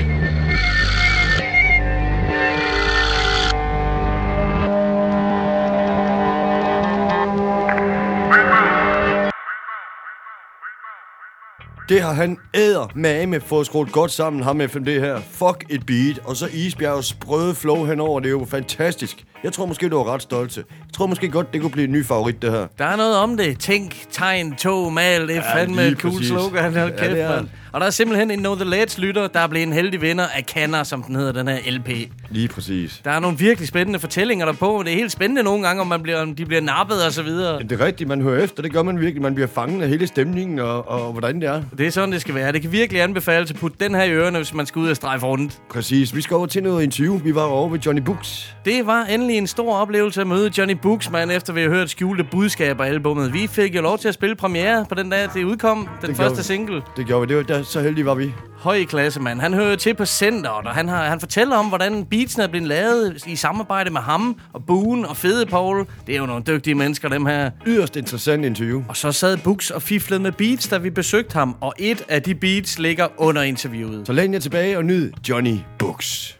Det har han æder med med fået skruet godt sammen, ham med F M D her. Fuck et beat, og så Isbjergs sprøde flow henover, det er jo fantastisk. Jeg tror måske, du var ret stolt til. Jeg tror måske godt, det kunne blive en ny favorit, det her. Der er noget om det. Tænk, tegn, tog, mal, det er ja, fandme et cool præcis. Slogan. Hold kæft, ja, man. Og der er simpelthen en Know The Lads lytter, der er blevet en heldig vinder af Kanner, som den hedder, den her L P. Lige præcis. Der er nogle virkelig spændende fortællinger derpå. Det er helt spændende nogle gange, om, man bliver, om de bliver nappet og så videre. Det er rigtigt, man hører efter. Det gør man virkelig. Man bliver fanget af hele stemningen og, og hvordan det er. Det er sådan, det skal være. Det kan virkelig anbefales at putte den her i ørerne, hvis man skal ud og strejfe rundt. Præcis. Vi skal over til noget interview. Vi var over ved Johnny Books. Det var endelig en stor oplevelse at møde Johnny Books, man, efter vi har hørt Skjulte Budskaber albumet. Vi fik jo lov til at spille premiere på den dag, det udkom. Den det første single. Det gjorde vi. Det var, der, så heldige var vi. Høj klasse, mand. Han hører til på centeret, og han, har, han fortæller om, hvordan beatsene er blevet lavet i samarbejde med ham og Boone og Fede Paul. Det er jo nogle dygtige mennesker, dem her. Yderst interessant interview. Og så sad Books og fiflede med beats, da vi besøgte ham, og et af de beats ligger under interviewet. Så læn jer tilbage og nyd Johnny Books.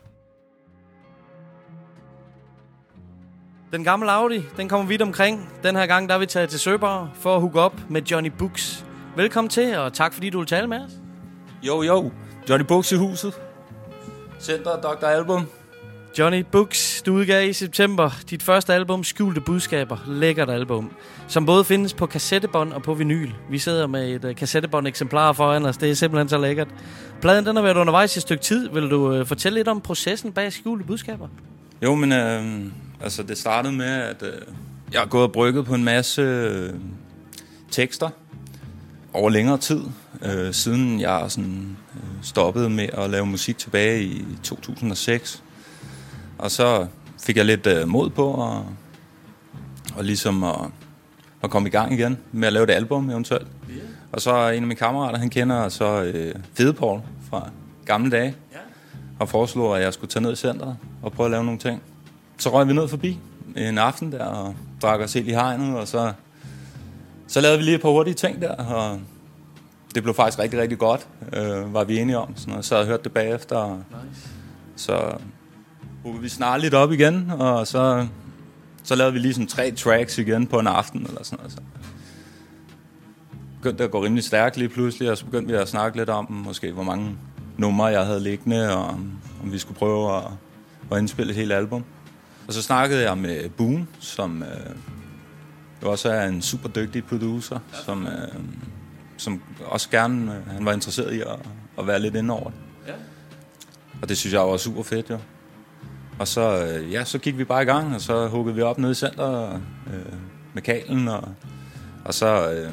Den gamle Audi, den kommer vidt omkring. Den her gang, der er vi taget til Søborg for at hooke op med Johnny Books. Velkommen til, og tak fordi du vil tale med os. Jo, jo. Johnny Books i huset. Center doktor Album. Johnny Books, du udgav i september dit første album, Skjulte Budskaber. Lækkert album, som både findes på kassettebånd og på vinyl. Vi sidder med et uh, kassettebånd-eksemplar foran os. Det er simpelthen så lækkert. Pladen, den har været undervejs i et stykke tid. Vil du uh, fortælle lidt om processen bag Skjulte Budskaber? Jo, men øh, altså det startede med, at øh, jeg har gået og brygget på en masse øh, tekster over længere tid. Øh, siden jeg sådan, øh, stoppede med at lave musik tilbage i to tusind og seks. Og så fik jeg lidt øh, mod på og, og ligesom at, at komme i gang igen med at lave et album eventuelt. Yeah. Og så en af mine kammerater, han kender så øh, Fede Paul fra gamle dage. Yeah. Og foreslog, at jeg skulle tage ned i centret og prøve at lave nogle ting. Så røg vi ned forbi en aften der og drak os helt i hegnet. Og så, så lavede vi lige et par hurtige ting der, og det blev faktisk rigtig, rigtig godt, øh, var vi enige om. Sådan noget. Så havde jeg hørt det bagefter. Nice. Så huggede vi snart lidt op igen, og så, så lavede vi lige sådan tre tracks igen på en aften. Eller sådan noget. Så begyndte det at gå rimelig stærkt lige pludselig, og så begyndte vi at snakke lidt om, måske hvor mange numre jeg havde liggende, og om, om vi skulle prøve at, at indspille et helt album. Og så snakkede jeg med Boone, som øh, også er en super dygtig producer, som... Øh, som også gerne, han var interesseret i at, at være lidt inde over det. Ja. Og det synes jeg var super fedt, jo. Og så, ja, så gik vi bare i gang, og så huggede vi op nede i centret øh, med kablen, og, og så, øh,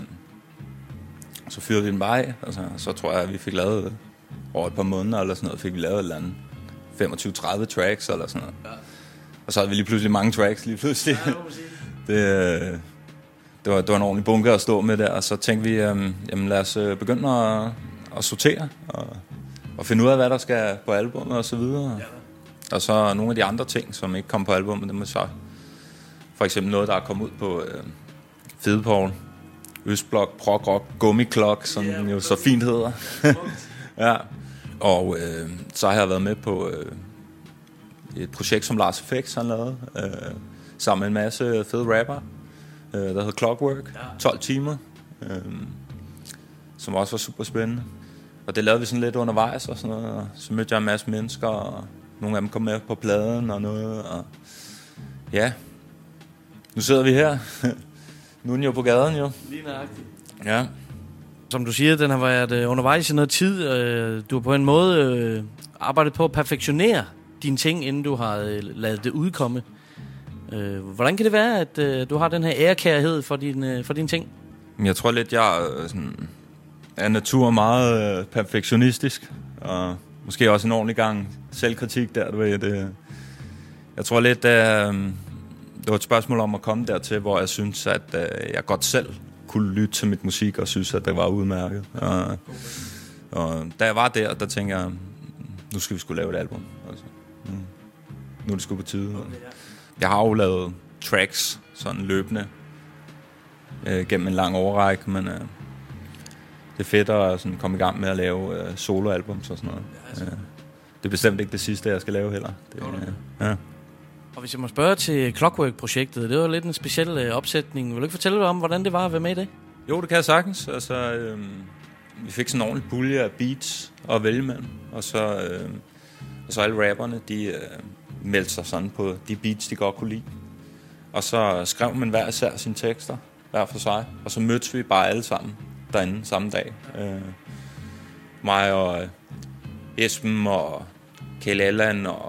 så fyrede vi den bare af. Altså, så tror jeg, at vi fik lavet over et par måneder, eller sådan noget, fik vi lavet et eller andet femogtyve til tredive tracks, eller sådan noget. Ja. Og så havde vi lige pludselig mange tracks, lige pludselig. Ja, det, Det var, det var en ordentlig bunke at stå med der, og så tænkte vi, øhm, jamen lad os øh, begynde at, at sortere og, og finde ud af, hvad der skal på albumet og så videre. Ja. Og så nogle af de andre ting, som ikke kom på albumet, det må så for eksempel noget, der er kommet ud på øh, Fede Paul, Østblok, Prog Rock, Gummiklok, som yeah, jo så fint hedder. Ja. Og øh, så har jeg været med på øh, et projekt, som Lars F X har lavet, øh, sammen med en masse fede rapper. Der hedder Clockwork, tolv timer, øhm, som også var super spændende. Og det lavede vi sådan lidt undervejs og sådan noget, og så mødte jeg en masse mennesker, og nogle af dem kom med på pladen og noget, og ja, nu sidder vi her. Nu er den jo på gaden, jo. Lige nøjagtigt. Ja. Som du siger, den har været undervejs i noget tid. Du har på en måde arbejdet på at perfektionere dine ting, inden du har ladet det udkomme. Hvordan kan det være, at øh, du har den her ærekærhed for, din, øh, for dine ting? Jeg tror lidt, jeg er, sådan, er natur meget øh, perfektionistisk, og måske også en ordentlig gang selvkritik der, du ved. Det, jeg tror lidt, at øh, det var et spørgsmål om at komme dertil, hvor jeg synes, at øh, jeg godt selv kunne lytte til mit musik, og synes, at det var udmærket. Og, Og da jeg var der, der tænkte jeg, nu skal vi sgu lave et album. Altså, nu, nu er det sgu på tide. Jeg har jo lavet tracks, sådan løbende, øh, gennem en lang overrække, men øh, det er fedt at sådan, komme i gang med at lave øh, soloalbums og sådan noget. Øh, det er bestemt ikke det sidste, jeg skal lave heller. Det, øh, ja. Og hvis jeg må spørge til Clockwork-projektet, det var lidt en speciel øh, opsætning. Vil du ikke fortælle dig om, hvordan det var at være med i det? Jo, det kan jeg sagtens. Altså, øh, vi fik sådan en ordentlig pulje af beats at vælge mellem. Og så, øh, og så alle rapperne, de øh, meldte sig sådan på de beats, de godt kunne lide. Og så skrev man hver især sine tekster, hver for sig. Og så mødtes vi bare alle sammen derinde samme dag. Øh, mig og øh, Esben og Kjell Allan og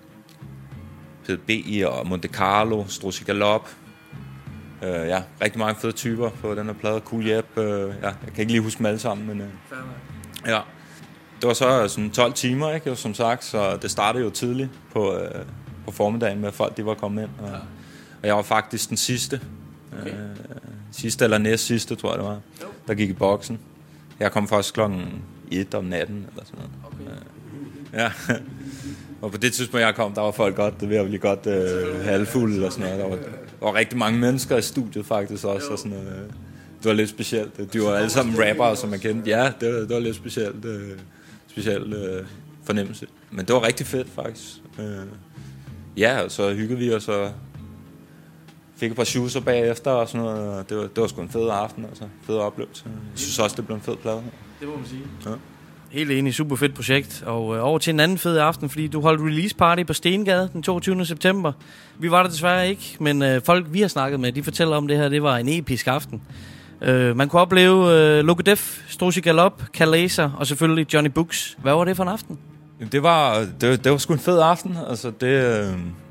P D B og Monte Carlo, Struzzi Galop. Uh, ja, rigtig mange fede typer på den her plade. Cool Jep, uh, ja, jeg kan ikke lige huske dem alle sammen, men uh, ja. Det var så sådan tolv timer, ikke, jo, som sagt, så det startede jo tidligt på, uh, på formiddagen med, at folk de var kommet ind. Og, ja. og jeg var faktisk den sidste. Okay. Uh, sidste eller næst sidste, tror jeg det var, jo. Der gik i boksen. Jeg kom først klokken et om natten, eller sådan noget. Okay. Uh, ja. Og på det tidspunkt, jeg kom, der var folk godt, det var virkelig godt øh, halvfulde eller sådan noget. Der var, der var rigtig mange mennesker i studiet faktisk også. Og sådan, øh, det var lidt specielt. De var alle sammen rappere, som man kendte. Ja, det var, det var lidt specielt, øh, specielt øh, fornemmelse. Men det var rigtig fedt faktisk. Øh, ja, og så hyggede vi, og så fik et par shoeser bagefter og sådan noget. Og det var, det var sgu en fed aften, altså. Fed oplevelse. Jeg synes også, det blev en fed plade. Det må man sige. Ja. Helt enig, super fedt projekt. Og øh, over til en anden fed aften, fordi du holdt release party på Stengade den toogtyvende september. Vi var der desværre ikke, men øh, folk vi har snakket med, de fortæller om det her, det var en episk aften. Øh, man kunne opleve øh, Loco Def, Struzzi Galop, Kalaser og selvfølgelig Johnny Books. Hvad var det for en aften? Det var, det, det var sgu en fed aften. Altså det, øh,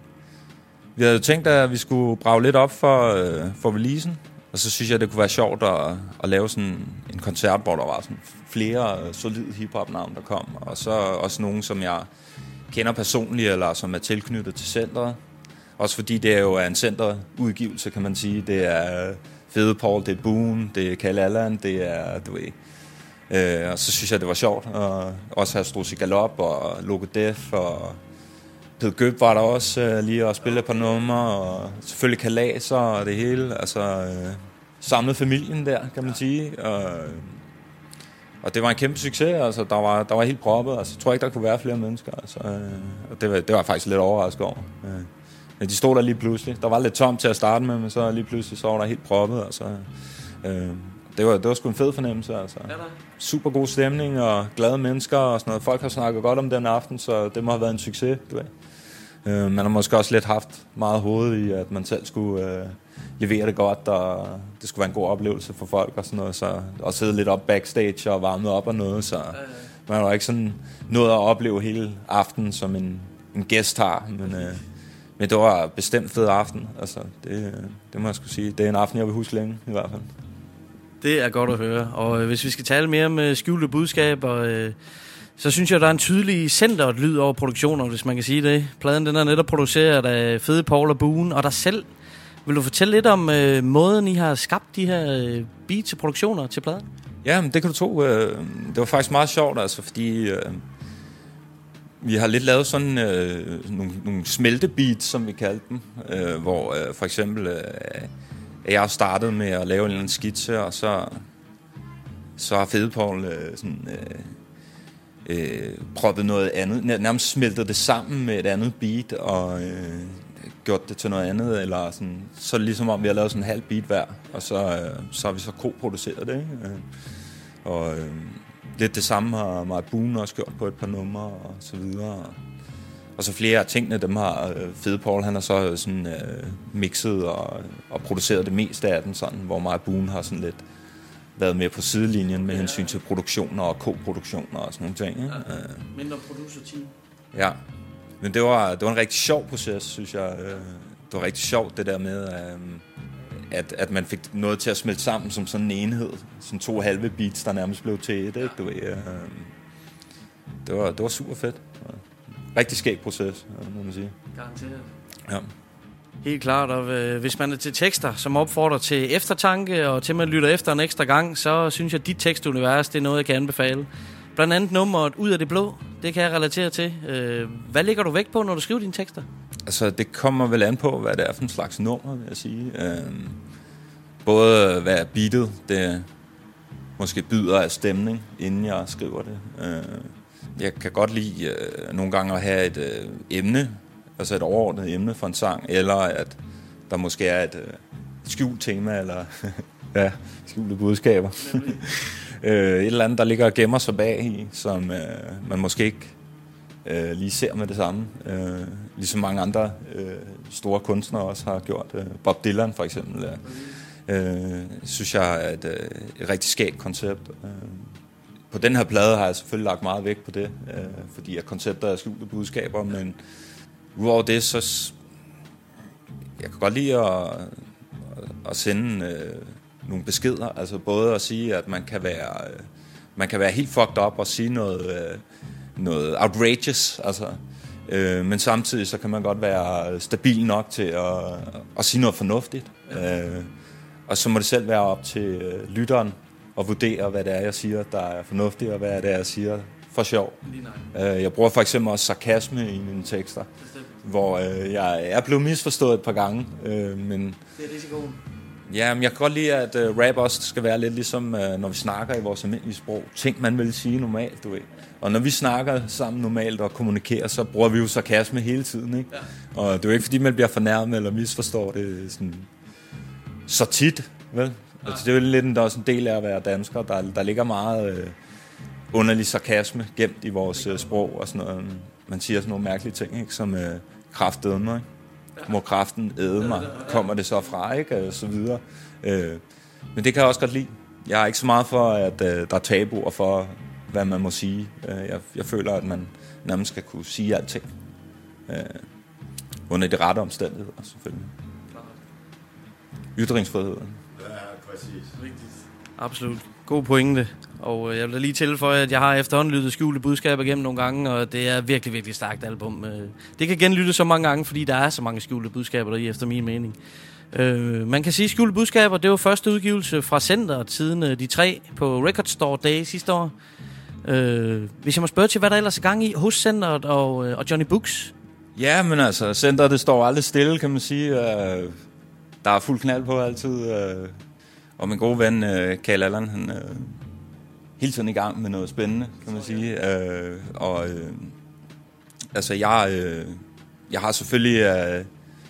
vi havde tænkt, at vi skulle brage lidt op for, øh, for releasen. Og så synes jeg, det kunne være sjovt at, at lave sådan en koncert, hvor der var sådan flere solide hiphop-navne, der kom. Og så også nogen, som jeg kender personligt, eller som er tilknyttet til centret. Også fordi det er jo en centerudgivelse, kan man sige. Det er Fede Paul, det er Boone, det er Kjell Allan, det er, du ved. Øh, og så synes jeg, det var sjovt at også have Struzzi Galop og Loco Def og Ped Gøb var der også øh, lige at spille et par numre, og selvfølgelig Kalaser og det hele. Altså øh, samlet familien der, kan man sige. Og, og det var en kæmpe succes. Altså der var der var helt proppet. Altså jeg tror ikke der kunne være flere mennesker. Altså, øh, og det var det var jeg faktisk lidt overrasket over. Øh, men de stod der lige pludselig. Der var lidt tomt til at starte med, men så lige pludselig så var der helt proppet. Altså, øh, det var det var sgu en fed fornemmelse. Altså. Super god stemning og glade mennesker og sådan noget. Folk har snakket godt om den aften, så det må have været en succes, du ved. Uh, man har måske også lidt haft meget hoved i, at man selv skulle uh, levere det godt, og det skulle være en god oplevelse for folk og sådan noget, så at sidde lidt op backstage og varme op og noget, så man har ikke sådan nået at opleve hele aftenen, som en, en gæst har, men, uh, men det var bestemt fed aften, altså det, det må jeg sgu sige. Det er en aften, jeg vil huske længe i hvert fald. Det er godt at høre, og øh, hvis vi skal tale mere med skjulte budskaber, øh, så synes jeg, der er en tydelig centret lyd over produktioner, hvis man kan sige det. Pladen den er netop produceret af Fede Paul og Boone, og dig selv. Vil du fortælle lidt om øh, måden, I har skabt de her øh, beats til produktioner til pladen? Ja, men det kan du tro. Øh, det var faktisk meget sjovt, altså, fordi øh, vi har lidt lavet sådan øh, nogle, nogle smeltebeats, som vi kaldte dem, øh, hvor øh, for eksempel øh, jeg startede med at lave en eller anden skitse, og så, så har Fede Paul øh, sådan... Øh, Øh, proppet noget andet, nærmest smeltet det sammen med et andet beat og øh, gjort det til noget andet, eller sådan, så ligesom om vi har lavet sådan en halv beat hver, og så, øh, så har vi så ko-produceret det, ikke? Øh, og øh, lidt det samme har Mark Boone også gjort på et par numre og så videre, og så flere af tingene, dem har øh, Fede Paul, han har så sådan øh, mixet og, og produceret det meste af den sådan, hvor Mark Boone har sådan lidt været med på sidelinjen med hensyn til produktioner og ko-produktioner og sådan nogle ting. Ja. Ja, mindre producer-team. Ja, men det var, det var en rigtig sjov proces, synes jeg. Det var rigtig sjovt det der med, at, at man fik noget til at smelte sammen som sådan en enhed. Sådan to halve beats, der nærmest blev til et. Ikke? Du ved, det, var, det var super fedt. Rigtig skæg proces, må man sige. Garanteret. Ja. Helt klart, og øh, hvis man er til tekster, som opfordrer til eftertanke, og til man lytter efter en ekstra gang, så synes jeg, at dit tekstunivers, det er noget, jeg kan anbefale. Blandt andet nummeret Ud af det blå. Det kan jeg relatere til. Øh, hvad lægger du vægt på, når du skriver dine tekster? Altså, det kommer vel an på, hvad det er for en slags nummer, vil jeg sige. Øh, både hvad er beatet, det måske byder af stemning, inden jeg skriver det. Øh, jeg kan godt lide øh, nogle gange at have et øh, emne, altså et overordnet emne for en sang, eller at der måske er et øh, skjult tema, eller ja, skjulte budskaber. øh, et eller andet, der ligger og gemmer sig bag i, som øh, man måske ikke øh, lige ser med det samme. Øh, ligesom mange andre øh, store kunstnere også har gjort. Øh, Bob Dylan for eksempel. Øh, synes jeg er et, øh, et rigtig skægt koncept. Øh, på den her plade har jeg selvfølgelig lagt meget vægt på det, øh, fordi at koncepter er skjulte budskaber, men udover det, så jeg kan godt lide at, at sende øh, nogle beskeder, altså både at sige, at man kan være, øh, man kan være helt fucked up og sige noget, øh, noget outrageous, altså, øh, men samtidig så kan man godt være stabil nok til at, at sige noget fornuftigt, øh, og så må det selv være op til øh, lytteren at vurdere, hvad det er, jeg siger, der er fornuftigt, og hvad det er, jeg siger for sjov. Øh, jeg bruger for eksempel også sarkasme i mine tekster, hvor øh, jeg er blevet misforstået et par gange, øh, men det er risikoen. Ja, men jeg kan godt lide, at uh, rap også skal være lidt ligesom, uh, når vi snakker i vores almindelige sprog. Ting, man vil sige normalt, du ved. Og når vi snakker sammen normalt og kommunikerer, så bruger vi jo sarkasme hele tiden, ikke? Ja. Og det er jo ikke, fordi man bliver fornærmet eller misforstår det sådan så tit, vel? Ja. Altså, det er jo lidt en, der er også en del af at være dansker. Der, der ligger meget uh, underlig sarkasme gemt i vores uh, sprog og sådan noget. Man siger sådan nogle mærkelige ting, ikke? Som uh, kraftedme, ikke? Må kraften æde mig, kommer det så fra, ikke, og så videre. Øh, men det kan jeg også godt lide. Jeg er ikke så meget for, at øh, der er tabuer for, hvad man må sige. Øh, jeg, jeg føler, at man nærmest skal kunne sige alting. Øh, under de rette omstændigheder, selvfølgelig. Ytringsfriheden. Ja, præcis. Rigtigt. Absolut. God pointe. Og jeg vil da lige tilføje, at jeg har efterhånden lyttet skjulte budskaber igennem nogle gange, og det er virkelig, virkelig stærkt album. Det kan genlyttes så mange gange, fordi der er så mange skjulte budskaber der i, efter min mening. Øh, man kan sige, at skjulte budskaber, det var første udgivelse fra Centeret siden de tre på Record Store Day sidste år. Øh, hvis jeg må spørge til, hvad der ellers er gang i hos Centeret og, og Johnny Books? Ja, men altså, Centeret, det står aldrig stille, kan man sige. Øh, der er fuld knald på altid. Øh, og min gode ven, øh, Karl Allan, han øh, hele tiden i gang med noget spændende, kan man sige. Øh, og øh, altså, jeg, øh, jeg har selvfølgelig øh,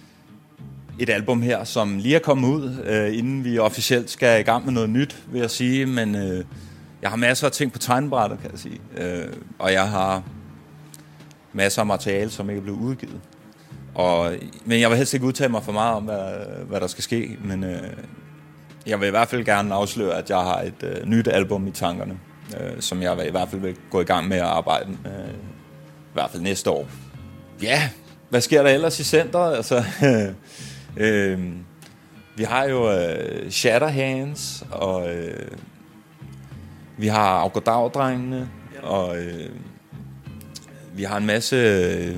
et album her, som lige er kommet ud, øh, inden vi officielt skal i gang med noget nyt, vil jeg sige. Men øh, jeg har masser af ting på tegnebrættet, kan jeg sige. Øh, og jeg har masser af materiale, som ikke er blevet udgivet. Og, men jeg vil helst ikke udtale mig for meget om, hvad, hvad der skal ske. Men øh, jeg vil i hvert fald gerne afsløre, at jeg har et øh, nyt album i tankerne, øh, som jeg vil, i hvert fald vil gå i gang med at arbejde med, øh, i hvert fald næste år. Ja, hvad sker der ellers i centret? Altså, øh, vi har jo øh, Shatterhands, og øh, vi har Afgodavdrengene, og øh, vi har en masse øh,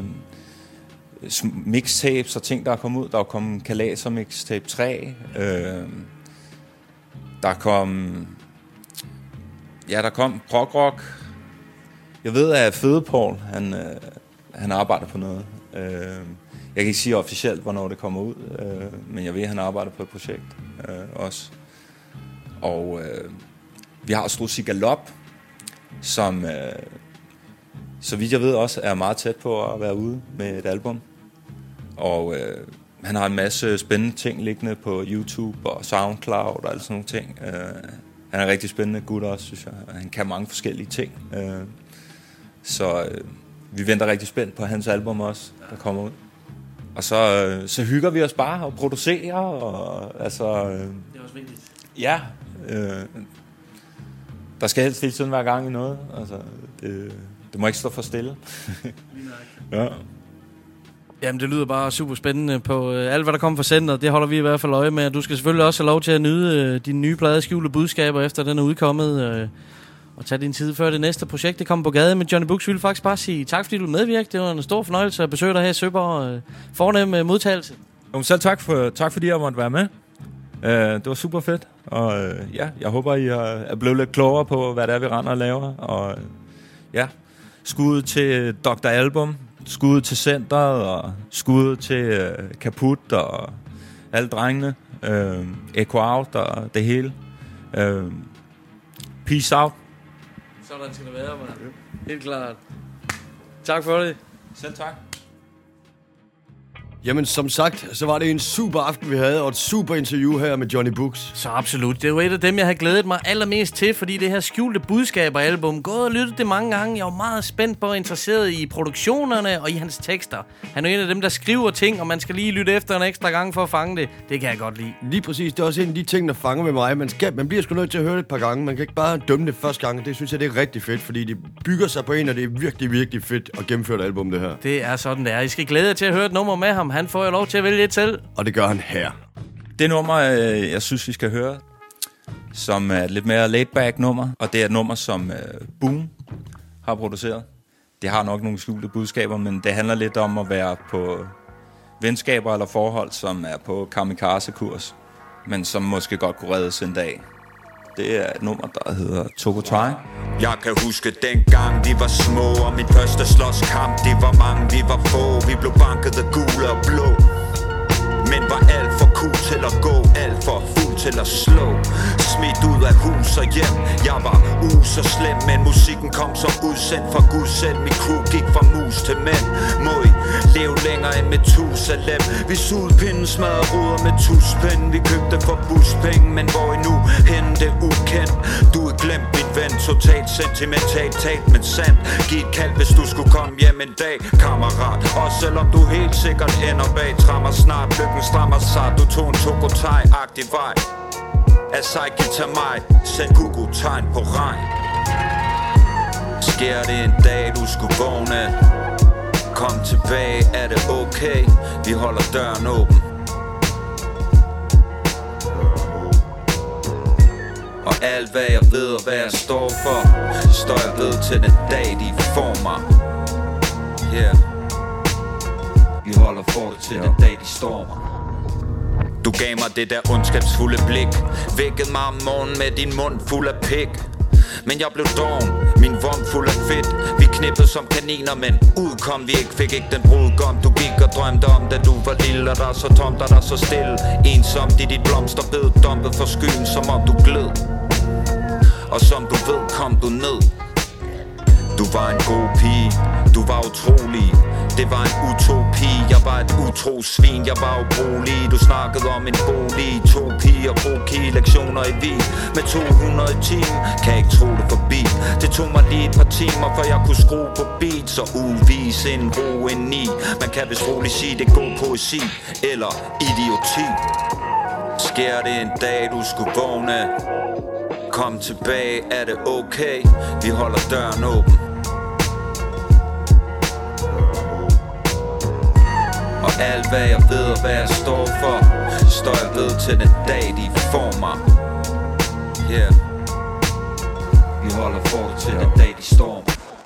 mixtapes og ting, der er kommet ud. Der er kommet Kalaser Mixtape tre. Øh, der kom... Ja, der kom prog rock. Jeg ved, at Fede Paul, han, øh, han arbejder på noget. Øh, jeg kan ikke sige officielt, hvornår det kommer ud, øh, men jeg ved, at han arbejder på et projekt øh, også. Og øh, vi har Strusi Galop, som... Øh, så vidt jeg ved også, er meget tæt på at være ude med et album. Og øh, han har en masse spændende ting liggende på YouTube og SoundCloud og alle sådan nogle ting. Øh, han er en rigtig spændende gut også, synes jeg. Han kan mange forskellige ting. Øh, så øh, vi venter rigtig spændt på hans album også, der kommer ud. Og så, øh, så hygger vi os bare og producerer. Og, altså, øh, det er også vigtigt. Ja. Øh, der skal helst hele tiden være gang i noget. Altså, det... Det må ikke stå for stille. Ja. Jamen, det lyder bare super spændende på øh, alt, hvad der kommer fra centret. Det holder vi i hvert fald øje med. Du skal selvfølgelig også have lov til at nyde øh, dine nye plade skjulte budskaber, efter den er udkommet. Øh, og tage din tid før det næste projekt, det kommer på gade. Men Johnny Books vil faktisk bare sige tak, fordi du medvirkede. Det var en stor fornøjelse at besøge dig her i Søborg. Øh, fornem øh, modtagelse. Jo, selv tak, for, tak fordi jeg måtte være med. Uh, det var super fedt. Og uh, ja, jeg håber, I er blevet lidt klogere på, hvad det er, vi render og laver. Og ja, skud til doktor Album, skud til Centeret, og skud til øh, Kaput og alle drengene. Øh, Echo Out og det hele. Øh, peace out. Sådan skal det være, man. Helt klart. Tak for det. Selv tak. Jamen, som sagt, så var det en super aften, vi havde, og et super interview her med Johnny Books. Så absolut. Det er jo et af dem, jeg har glædet mig allermest til, fordi det her skjulte budskaber-album, gået og lyttet det mange gange. Jeg var meget spændt på og interesseret i produktionerne og i hans tekster. Han er en af dem, der skriver ting, og man skal lige lytte efter en ekstra gang for at fange det. Det kan jeg godt lide. Lige præcis. Det er også en af de ting, der fanger med mig. Man, skal, man bliver sgu nødt til at høre det et par gange. Man kan ikke bare dømme det første gang. Det synes jeg, det er rigtig fedt, fordi det bygger sig på en, og det er virkelig, virkelig fedt at gennemføre et album, det her. Det er sådan, det er. I skal glæde jer til at høre et nummer med ham. Han får jo lov til at vælge et selv. Og det gør han her. Det nummer, jeg synes, vi skal høre, som er et lidt mere laid-back nummer, og det er et nummer, som Boom har produceret. Det har nok nogle skjulte budskaber, men det handler lidt om at være på venskaber eller forhold, som er på kamikaze-kurs, men som måske godt kunne reddes en dag. Det er et nummer, der hedder Tokotai. Jeg kan huske dengang vi var små, og min første slåskamp, de var mange, vi var få. Vi blev banket af gule og blå, men var alt for cool til at gå, alt for fuld til at slå. Smidt ud af hus og hjem, jeg var uh så slem, men musikken kom som udsendt fra Gud selv. Min crew gik fra mus til mænd. Må I leve længere end med Tusalem. Vi sugede pinden, smadrede ruder med tuspinde. Vi købte for buspenge, men hvor I nu henne, det ukendt. Du er glemt, min ven, totalt sentimentalt talt, men sandt. Giv et kald, hvis du skulle komme hjem en dag, kammerat. Og selvom du helt sikkert ender bag trammer snart. Lykken strammer sig, du tog en Tokotai-agtig vej. Asai til mig, send Google-tegn på regn. Sker det en dag, du skulle vågne, kom tilbage, er det okay? Vi holder døren åben. Og alt hvad jeg ved og hvad jeg står for, står jeg ved til den dag, de får mig. Yeah. Vi holder for det til den dag, de stormer. Du gav mig det der ondskabsfulde blik, vækkede mig om morgenen med din mund fuld af pik. Men jeg blev doven, min vom fuld af fedt. Vi knippede som kaniner, men ud kom vi ikke. Fik ikke den brudgom, du gik og drømte om, da du var lille. Og der så tomt, og der så stille. Ensomt i dit blomsterbed, dumpet for skyen, som om du gled. Og som du ved, kom du ned. Du var en god pige, du var utrolig. Det var en utopi, jeg var et utro svin. Jeg var ubrugelig, du snakkede om en bolig. To piger, broki, lektioner i Wien med to hundrede i timen, kan jeg ikke tro det forbi. Det tog mig lige et par timer, før jeg kunne skrue på beat. Så uvise en ro indeni. Man kan vist roligt sige, det er god poesi eller idioti. Sker det en dag, du skulle vågne, kom tilbage, er det okay? Vi holder døren åben. Og alt hvad jeg ved og hvad jeg står for, står jeg ved til den dag, de får mig. Yeah. Vi holder for til den dag, de stormer.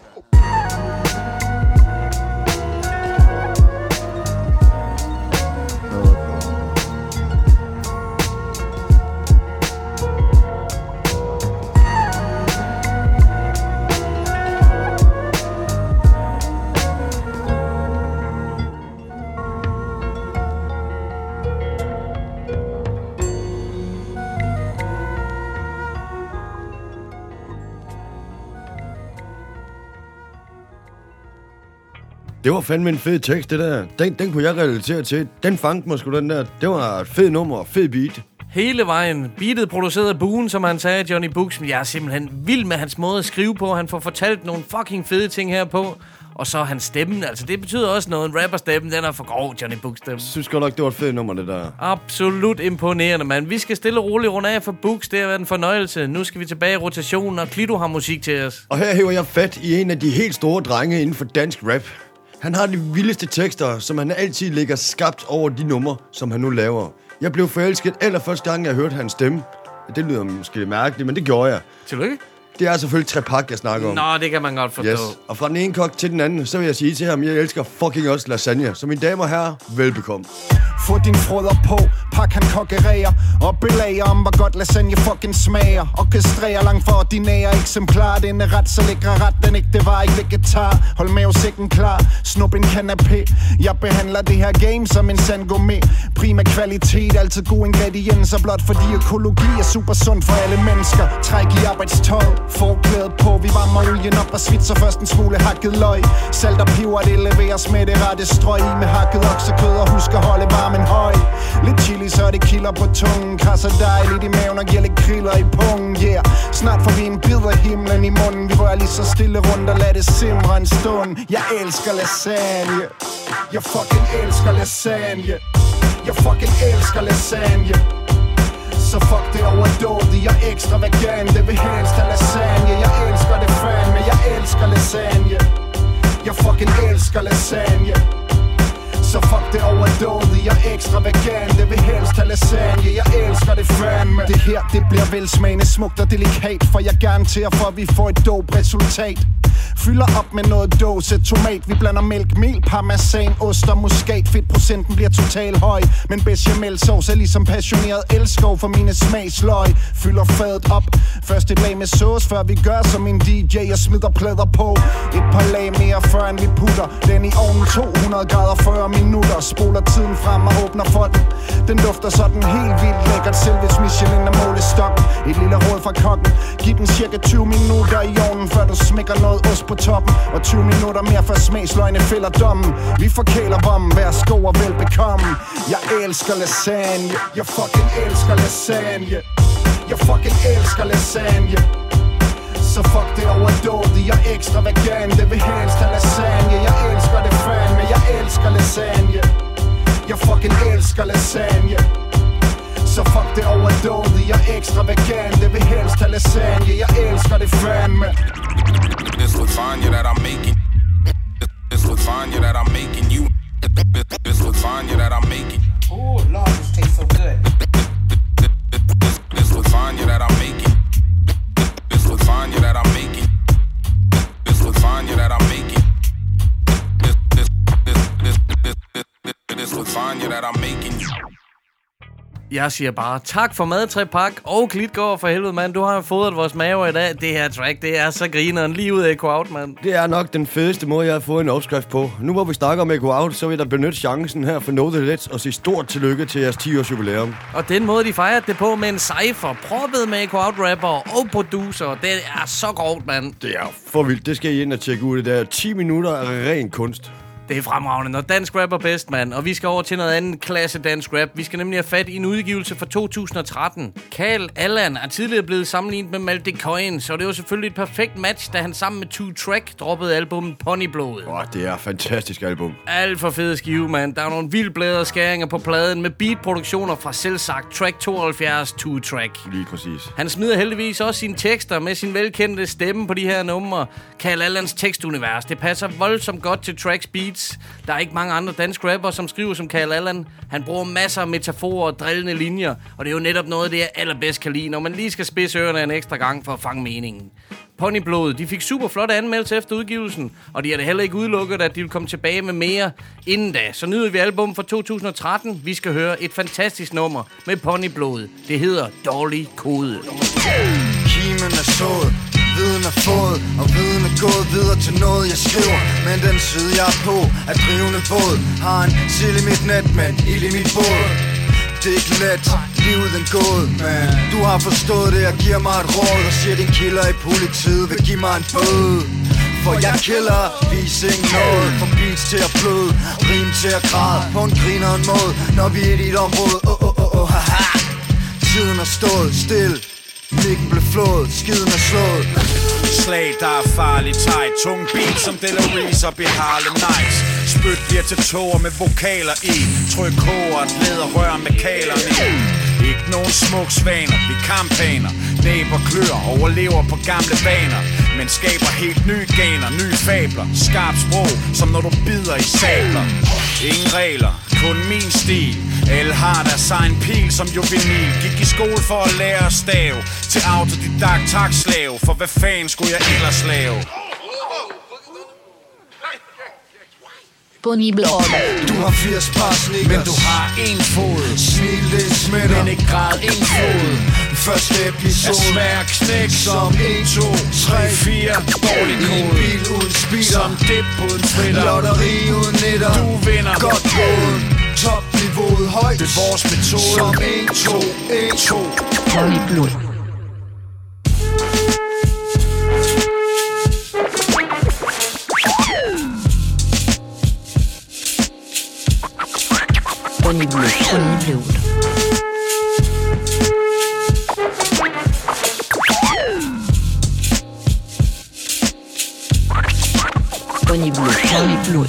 Det var fandme en fed tekst, det der. Den, den kunne jeg relatere til. Den fangede mig sgu, den der. Det var et fed nummer og fed beat. Hele vejen. Beatet produceret af Boone, som han sagde, Johnny Books. Jeg er simpelthen vild med hans måde at skrive på. Han får fortalt nogle fucking fede ting her på. Og så hans stemme, altså det betyder også noget. En rapperstemme, den er for grov, Johnny Books stemme. Jeg synes godt nok, det var et fedt nummer, det der. Absolut imponerende, mand. Vi skal stille og roligt runde af for Books. Det har været en fornøjelse. Nu skal vi tilbage i rotationen, og Klido har musik til os. Og her hæver jeg fat i en af de helt store drenge inden for dansk rap. Han har de vildeste tekster, som han altid lægger skabt over de numre, som han nu laver. Jeg blev forelsket allerførste gang, jeg hørte hans stemme. Det lyder måske mærkeligt, men det gjorde jeg. Tillykke. Det er selvfølgelig Trepak, jeg snakker om. Nå, det kan man godt forstå. Yes. Og fra den ene kok til den anden, så vil jeg sige til ham, jeg elsker fucking også lasagne. Så mine damer og herrer, velbekomme. få din frøder på. Pak han konkurrerer og belager om, hvor godt lasagne fucking smager. Orkestrerer langt for ordinære eksemplarer. Den er ret så lækre ret, den ikke, det var ikke vegetar. Hold mavesækken klar, snup en canapé. Jeg behandler det her game som en sand gourmet. Prima kvalitet, altid gode ingredienser. Blot fordi økologi er super sund for alle mennesker. Træk i arbejdstøj, forklædet på. Vi varmer olien op og svitser først en smule hakket løg. Salt og peber, det leveres med det rette strøg i. Med hakket oksekød og husk at holde varmen høj. Lidt chili, så det kilder på tungen. Krasser dejligt i maven og giver lidt kriller i pungen. Yeah, snart får vi en bid af himlen i munden. Vi rører lige så stille rundt og lader det simre en stund. Jeg elsker lasagne. Jeg fucking elsker lasagne. Jeg fucking elsker lasagne. Så fuck det overdådigt, jeg er ekstra vegan. Det vil helst have lasagne. Jeg elsker det fandme, jeg elsker lasagne. Jeg fucking elsker lasagne. Så fuck det overdådigt, jeg er ekstra vegan. Det vil helst have lasagne, jeg elsker det fandme. Det her, det bliver velsmagende, smukt og delikat. For jeg garanterer for, at vi får et dope resultat. Fylder op med noget dåse tomat. Vi blander mælk, mel, parmesan, ost og muskat. Fedtprocenten bliver total høj. Men bechamelsauce er ligesom passioneret elskov for mine smagsløg. Fylder fadet op. Først et lag med sauce, før vi gør som en D J og smider plader på. Et par lag mere, før end vi putter den i ovnen to hundrede grader fyrre minutter. Spoler tiden frem og åbner for den. Den dufter sådan helt vildt lækkert. Selv hvis Michelin er målestokken. Et lille råd fra kokken. Giv den cirka tyve minutter i ovnen, før du smækker noget ost på toppen. Og tyve minutter mere, før smagsløgene fælder dommen. Vi forkæler vommen, værsgo og velbekomme. Jeg elsker lasagne. Jeg fucking elsker lasagne. Jeg fucking elsker lasagne. Så fuck det overdådigt, jeg er ekstra vegan. Det vil helst have lasagne. Jeg elsker det fandme, jeg elsker lasagne. Jeg fucking elsker lasagne. Så fuck det overdådigt, jeg er ekstra vegan. Det vil helst have lasagne. Jeg elsker det fandme. This lasagna that I'm making. This lasagna that I'm making you. This lasagna that I'm making. Oh Lord, this tastes so good. This, this lasagna that I'm making. This lasagna that I'm making. This lasagna that I'm making. This this this this this this this lasagna that I'm making. Jeg siger bare tak for mad, Trepak og Klitgaard for helvede, mand. Du har fodret vores maver i dag. Det her track, det er så grineren lige ud af Echo Out, mand. Det er nok den fedeste måde, jeg har fået en opskrift på. Nu hvor vi snakker om Echo Out, så vil jeg benytte chancen her for Know The Let's og sige stort tillykke til jeres ti års jubilæum. Og den måde, de fejrede det på med en cypher, proppet med Echo Out rapper og producer, det er så grovt, mand. Det er for vildt. Det skal I ind og tjekke ud. Det er ti minutter af ren kunst. Det er fremragende, når dansk rap er bedst, mand. Og vi skal over til noget andet klasse dansk rap. Vi skal nemlig have fat i en udgivelse fra to tusind og tretten. Carl Allan er tidligere blevet sammenlignet med Malte Coyne, så det var selvfølgelig et perfekt match, da han sammen med Two Track droppede albumet Ponyblod. Åh, oh, det er et fantastisk album. Alt for fede skive, mand. Der er nogle vildt bladrede skæringer på pladen med beatproduktioner fra selvsagt Track tooghalvfjerds Two Track. Lige præcis. Han smider heldigvis også sine tekster med sin velkendte stemme på de her numre. Carl Allans tekstunivers, det passer voldsomt godt til Tracks beats. Der er ikke mange andre danske rapper, som skriver som Carl Allan. Han bruger masser af metaforer og drillende linjer, og det er jo netop noget af det, jeg allerbedst kan lide, når man lige skal spidse ørerne en ekstra gang for at fange meningen. Ponyblod, de fik super flotte anmeldelser efter udgivelsen, og de har da heller ikke udelukket, at de vil komme tilbage med mere inden da. Så nyder vi album fra to tusind og tretten. Vi skal høre et fantastisk nummer med Ponyblod. Det hedder Dårlig Kode. Kimen er sået, viden er fået, og viden er gået videre til noget jeg skriver. Men den side jeg er på er drivende båd. Har en sild i mit net, men ild i mit båd. Det er ikke let, livet den gåde, men du har forstået det og giver mig et råd. Og siger din killer i politiet vil give mig en bøde. For jeg killer, vis ikke noget. Fra beats til at bløde, rim til at græde. På en griner en måde, når vi er i dit område. Åh, åh, åh, åh, haha. Tiden har stået still. Mikken blev flået, skiden er slået. Slag, der er farligt tight. Tung beat som Delores op i Harlem Nights. Spyt bliver til tåger med vokaler i. Tryk koger, et læderrør med kalerne i. Ikke nogen smuk svaner, vi kampaner. Næber klør, overlever på gamle vaner. Men skaber helt nye ganer, nye fabler. Skarp sprog, som når du bider i sabler. Ingen regler, kun min stil. Alle har deres egen pil som juvenil. Gik i skole for at lære at stave. Til autodidakt takslave. For hvad fanden skulle jeg ellers lave? Ponyblod. Du har firs par sneakers, men du har en fod. Smil, det smitter, men ikke grad en fod. Første episode er svær at knække som en, to, tre, fire. Dårlig kode. En bil uden speeder, som dip uden fritter. Lotteri uden nitter, du vinder. Godt gået. Topniveauet højt, det er vores metode. Som en, to, en, to. Ponyblod. Ponyblod. Ponyblod. Ponyblod. Ponyblod.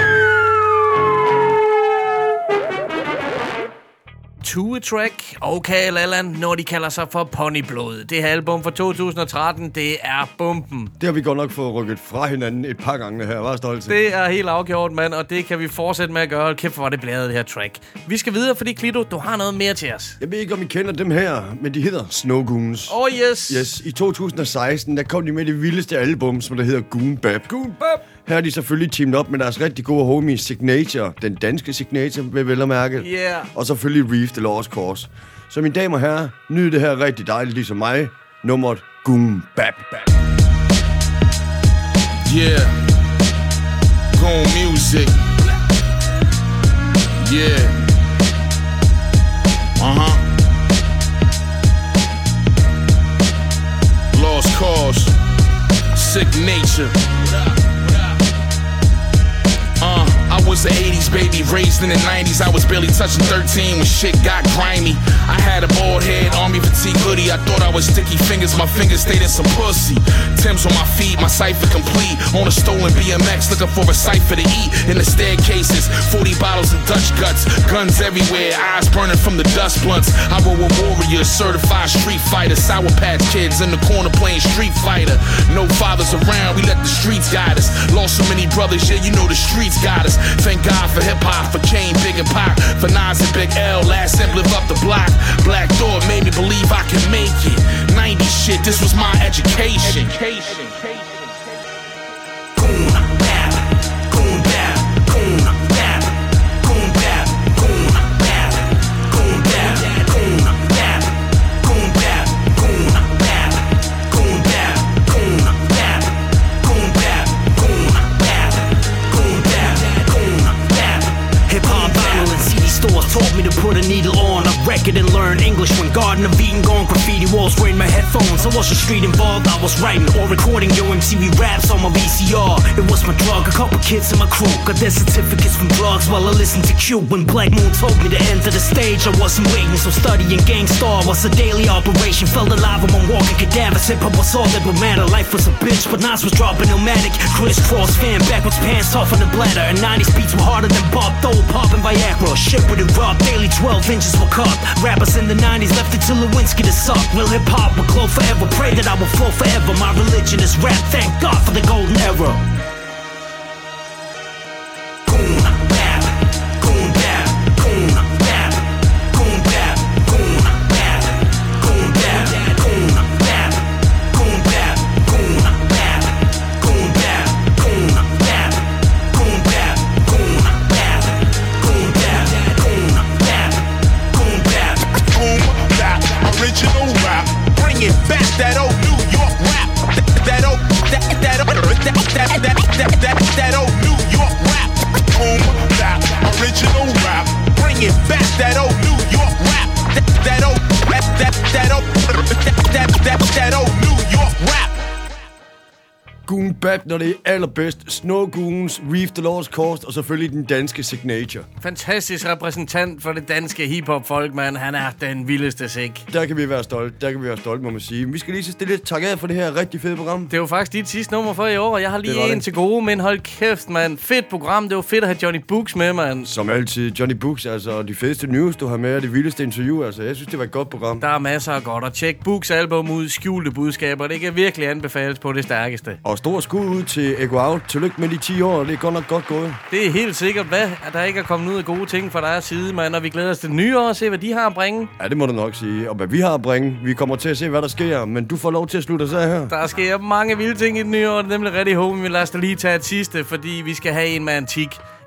Two-track, okay, Lalan, når de kalder sig for Ponyblod. Det her album fra to tusind og tretten, det er bomben. Det har vi godt nok fået rykket fra hinanden et par gange her, var stolt til. Det er helt afgjort, mand, og det kan vi fortsætte med at gøre. Kæft, hvor var det blæret, det her track. Vi skal videre, fordi Klito, du har noget mere til os. Jeg ved ikke, om I kender dem her, men de hedder Snow Goons. Oh yes. Yes, i to tusind og seksten, der kom de med det vildeste album, som der hedder Goon Bap. Goon Bap. Her er de selvfølgelig teamet op med deres rigtig gode homie Signature, den danske Signature, vil vel at mærke. Yeah. Og selvfølgelig Reef the Lost Cause. Så mine damer og herrer, nyd det her rigtig dejligt, ligesom mig. Nummeret Goon Bap. Yeah. Goon music. Yeah. Uh-huh. Lost Cause. Signature. Uh, I was an eighties baby, raised in the nineties. I was barely touching thirteen when shit got grimy. I had a bald head, army fatigue hoodie. I thought I was sticky fingers, my fingers stayed in some pussy. Tim's on my feet, my cipher complete. On a stolen B M X, looking for a cipher to eat. In the staircases, forty bottles of Dutch guts. Guns everywhere, eyes burning from the dust blunts. I were a warrior, certified street fighter. Sour Patch Kids in the corner playing Street Fighter. No fathers around, we let the streets guide us. Lost so many brothers, yeah, you know the streets got us. Thank God for hip-hop, for Kane, Big and Pac, for Nas and Big L. Last Simp live up the block. Black Thought made me believe I could make it. nineties shit, this was my education. education. Goon bap, goon bap, goon bap, goon bap, goon bap, goon bap, goon bap, goon bap, goon bap, goon bap, goon bap, goon bap, goon bap, goon bap, goon bap. Hip hop vinyl and C D stores taught me to put a needle on a record and learn English. When Garden of Eden gone, graffiti walls were in my headphones. I wasn't street involved, I was writing or recording your M T V raps on my V C R. It was my drug, a couple kids in my crew got their certificates from drugs while I listened to Q. When Black Moon told me to enter the stage, I wasn't waiting, so studying Gang Starr was a daily operation. Felt alive among walking cadavers. Hip hop was all that would matter. Life was a bitch, but Nas was dropping Illmatic. Crisscross fan, backwards pants off on the bladder. And nineties beats were harder than Bob Dole, popping Viagra. Shit with it rough, daily twelve inches were cut. Rappers in the nineties left it to Lewinsky to suck. Real hip hop will glow forever. Pray that I will flow forever. My religion is rap. Thank God for the golden era. Goon bap, goon bap, goon bap, goon bap, goon bap, goon bap, goon bap, goon bap, goon bap, goon bap, goon bap, goon bap, goon bap, goon bap, goon bap, goon bap, goon bap, original rap. Bring it back, that old New York rap. That old, that that that that that that that that old New York rap. Boom bap, original rap. Bring it back, that old New York rap. That that old that that that old that that that old New York rap. Goon Bap, når det er allerbedst. Snow Goons, Reef the Lost Cause og selvfølgelig den danske Signature. Fantastisk repræsentant for det danske hiphop-folk, mand. Han er den vildeste sik. Der kan vi være stolte. Der kan vi være stolte, må man sige. Vi skal lige så stille lidt tak af for det her rigtig fede program. Det er jo faktisk dit sidste nummer for i år, og jeg har lige en det. til gode, men hold kæft, mand. Fedt program. Det var fedt at have Johnny Books med, mand. Som altid, Johnny Books, altså de fedeste news, du har med, og det vildeste interview, altså. Jeg synes, det var et godt program. Der er masser af godt, og tjek Books album ud, skjulte budskaber. Det kan virkelig anbefales på det stærkeste. Og stor skud ud til Ego Out. Tillykke med de ti år, det er godt nok godt gået. Det er helt sikkert, hvad at der ikke er kommet ud af gode ting fra deres side, mand. Og vi glæder os til det nye år og se, hvad de har at bringe. Ja, det må du nok sige. Og hvad vi har at bringe. Vi kommer til at se, hvad der sker, men du får lov til at slutte os af her. Der sker mange vilde ting i det nye år, det er nemlig rigtig håbe, vi lader os da lige tage et sidste, fordi vi skal have en med antik.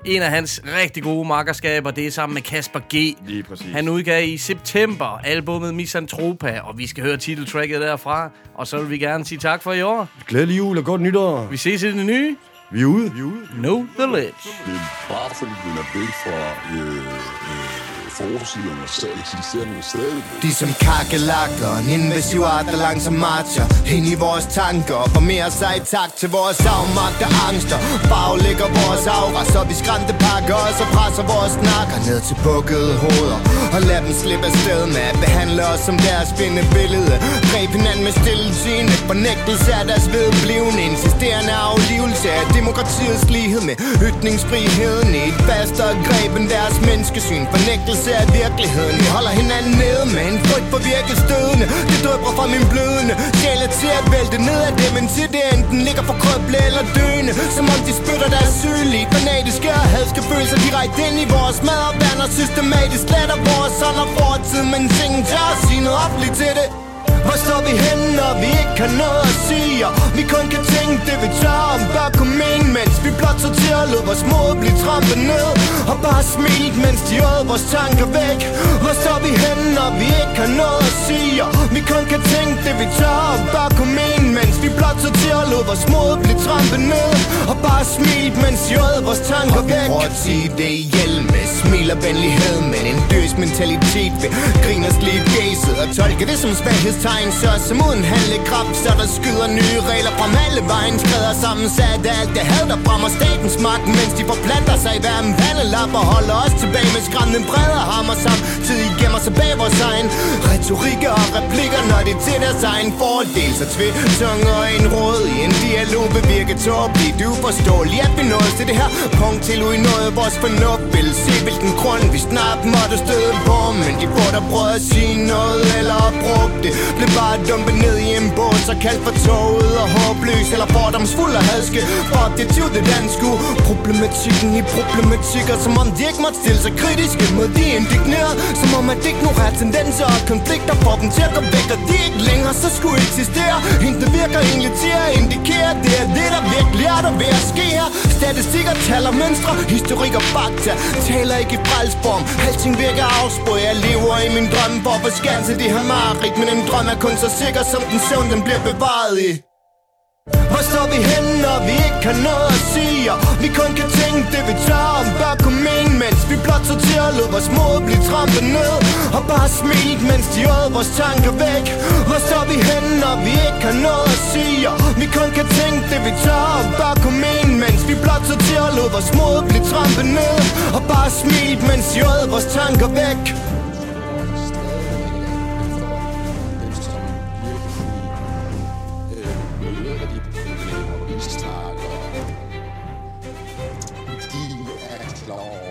En af hans rigtig gode makkerskaber, det er sammen med Kasper G. Lige præcis. Han udgav i september albumet Misantropa, og vi skal høre titeltracket derfra. Og så vil vi gerne sige tak for i år. Glædelig jul og godt nytår. Vi ses i det nye. Vi er ude. Vi er ude. Know the Ledge. Men bare fordi den er væk fra øh, øh, forsiderne, så eksisterer den stadig. De som kakelakker, en invasiv art, der langsomt marcher ind i vores tanker, og mere sig i takt til vores afmagt og angster. Baglægger vores aura, så vi skræmte pakker os og presser vores nakker ned til bukkede hoveder, og lad dem slippe afsted med at behandle os som deres billede. Greb hinanden med stillesiddende, fornægtelse af deres vedblivende, insisterende aflivelse af demokratiets lighed med ytringsfriheden i et fastere greb end deres menneskesyn. Fornægtelse af virkeligheden. Vi holder hinanden nede med en frygt for virket stødende. Det drøber fra min blødende sjæle til at vælte ned af dem, indtil det enten ligger for krøble eller døende. Som om de spytter deres sygelige, fanatiske og hadske følelser direkte ind i vores mad og vand, og systematisk sletter vores ånd og fortid, men ingen tør at sige noget offentligt til det. Hvor står vi henne, når vi ikke har noget at sige, og vi kun kan tænke det vi tør om bør kunne mene, mens vi blot så til at lade vores mod blive trampet ned, og bare smilt, mens de åd vores tanker væk. Hvor står vi henne, når vi ikke har noget at sige, og vi kun kan tænke det vi tør om bør kunne mene, mens vi blot så til at lade vores mod blive trampet ned, og bare smilt, mens de åd vores tanker væk. Og vi prøver at sige det ihjel med smil og venlighed, men en døs mentalitet ved griners lige gæset og tolke det som svaghedstegn. Så som uden handlekraft, så der skyder nye regler fra alle vejen, skræder sammensat af alt det had, der fremmer statens magt, mens de forplanter sig i hver en pandelap og holder os tilbage med skræmmende bredere hammer samtidig gemmer sig bag vores egen retorikker og replikker, når det er til deres egen fordel. Så tvetunge og en råd i en dialog vil virke tåbeligt uforståeligt, at vi nåede til det her punkt til ui noget vores fornuft vil se hvilken grund vi snart måtte støde på, men de får der prøvet at sige noget eller at bruge det, blev bare dumpet ned i en båd, så kaldt for toget og håbløs eller fordomsfuld og hadske. For objektiv det danske problematikken i problematikker, som om de ikke måtte stille sig kritiske mod de indignerede, som om at ignorere tendenser og konflikter får dem til at gå væk, og de ikke længere så skulle eksistere. Intet virker egentlig til at indikere, det er det der virkelig er der ved at ske her. Statistikker, tal og mønstre, historik og fakta taler ikke i frelsform. Alting virker afsprøget, jeg lever i min drømme for at få skanse de her mareridt, men en drøm er kun så sikker som den søvn, den bliver bevaret i. Hvor står vi henne, når vi ikke har noget at sige, og vi kun kan tænke det vi tør om bør kunne mene, mens vi blot så til at lade vores mod blive trampet ned, og bare smilt, mens de åd vores tanker væk. Hvor står vi henne, når vi ikke har noget at sige, og vi kun kan tænke det vi tør om bør kunne mene, mens vi blot så til at lade vores mod blive trampet ned, og bare smilt, mens de åd vores tanker væk. Law.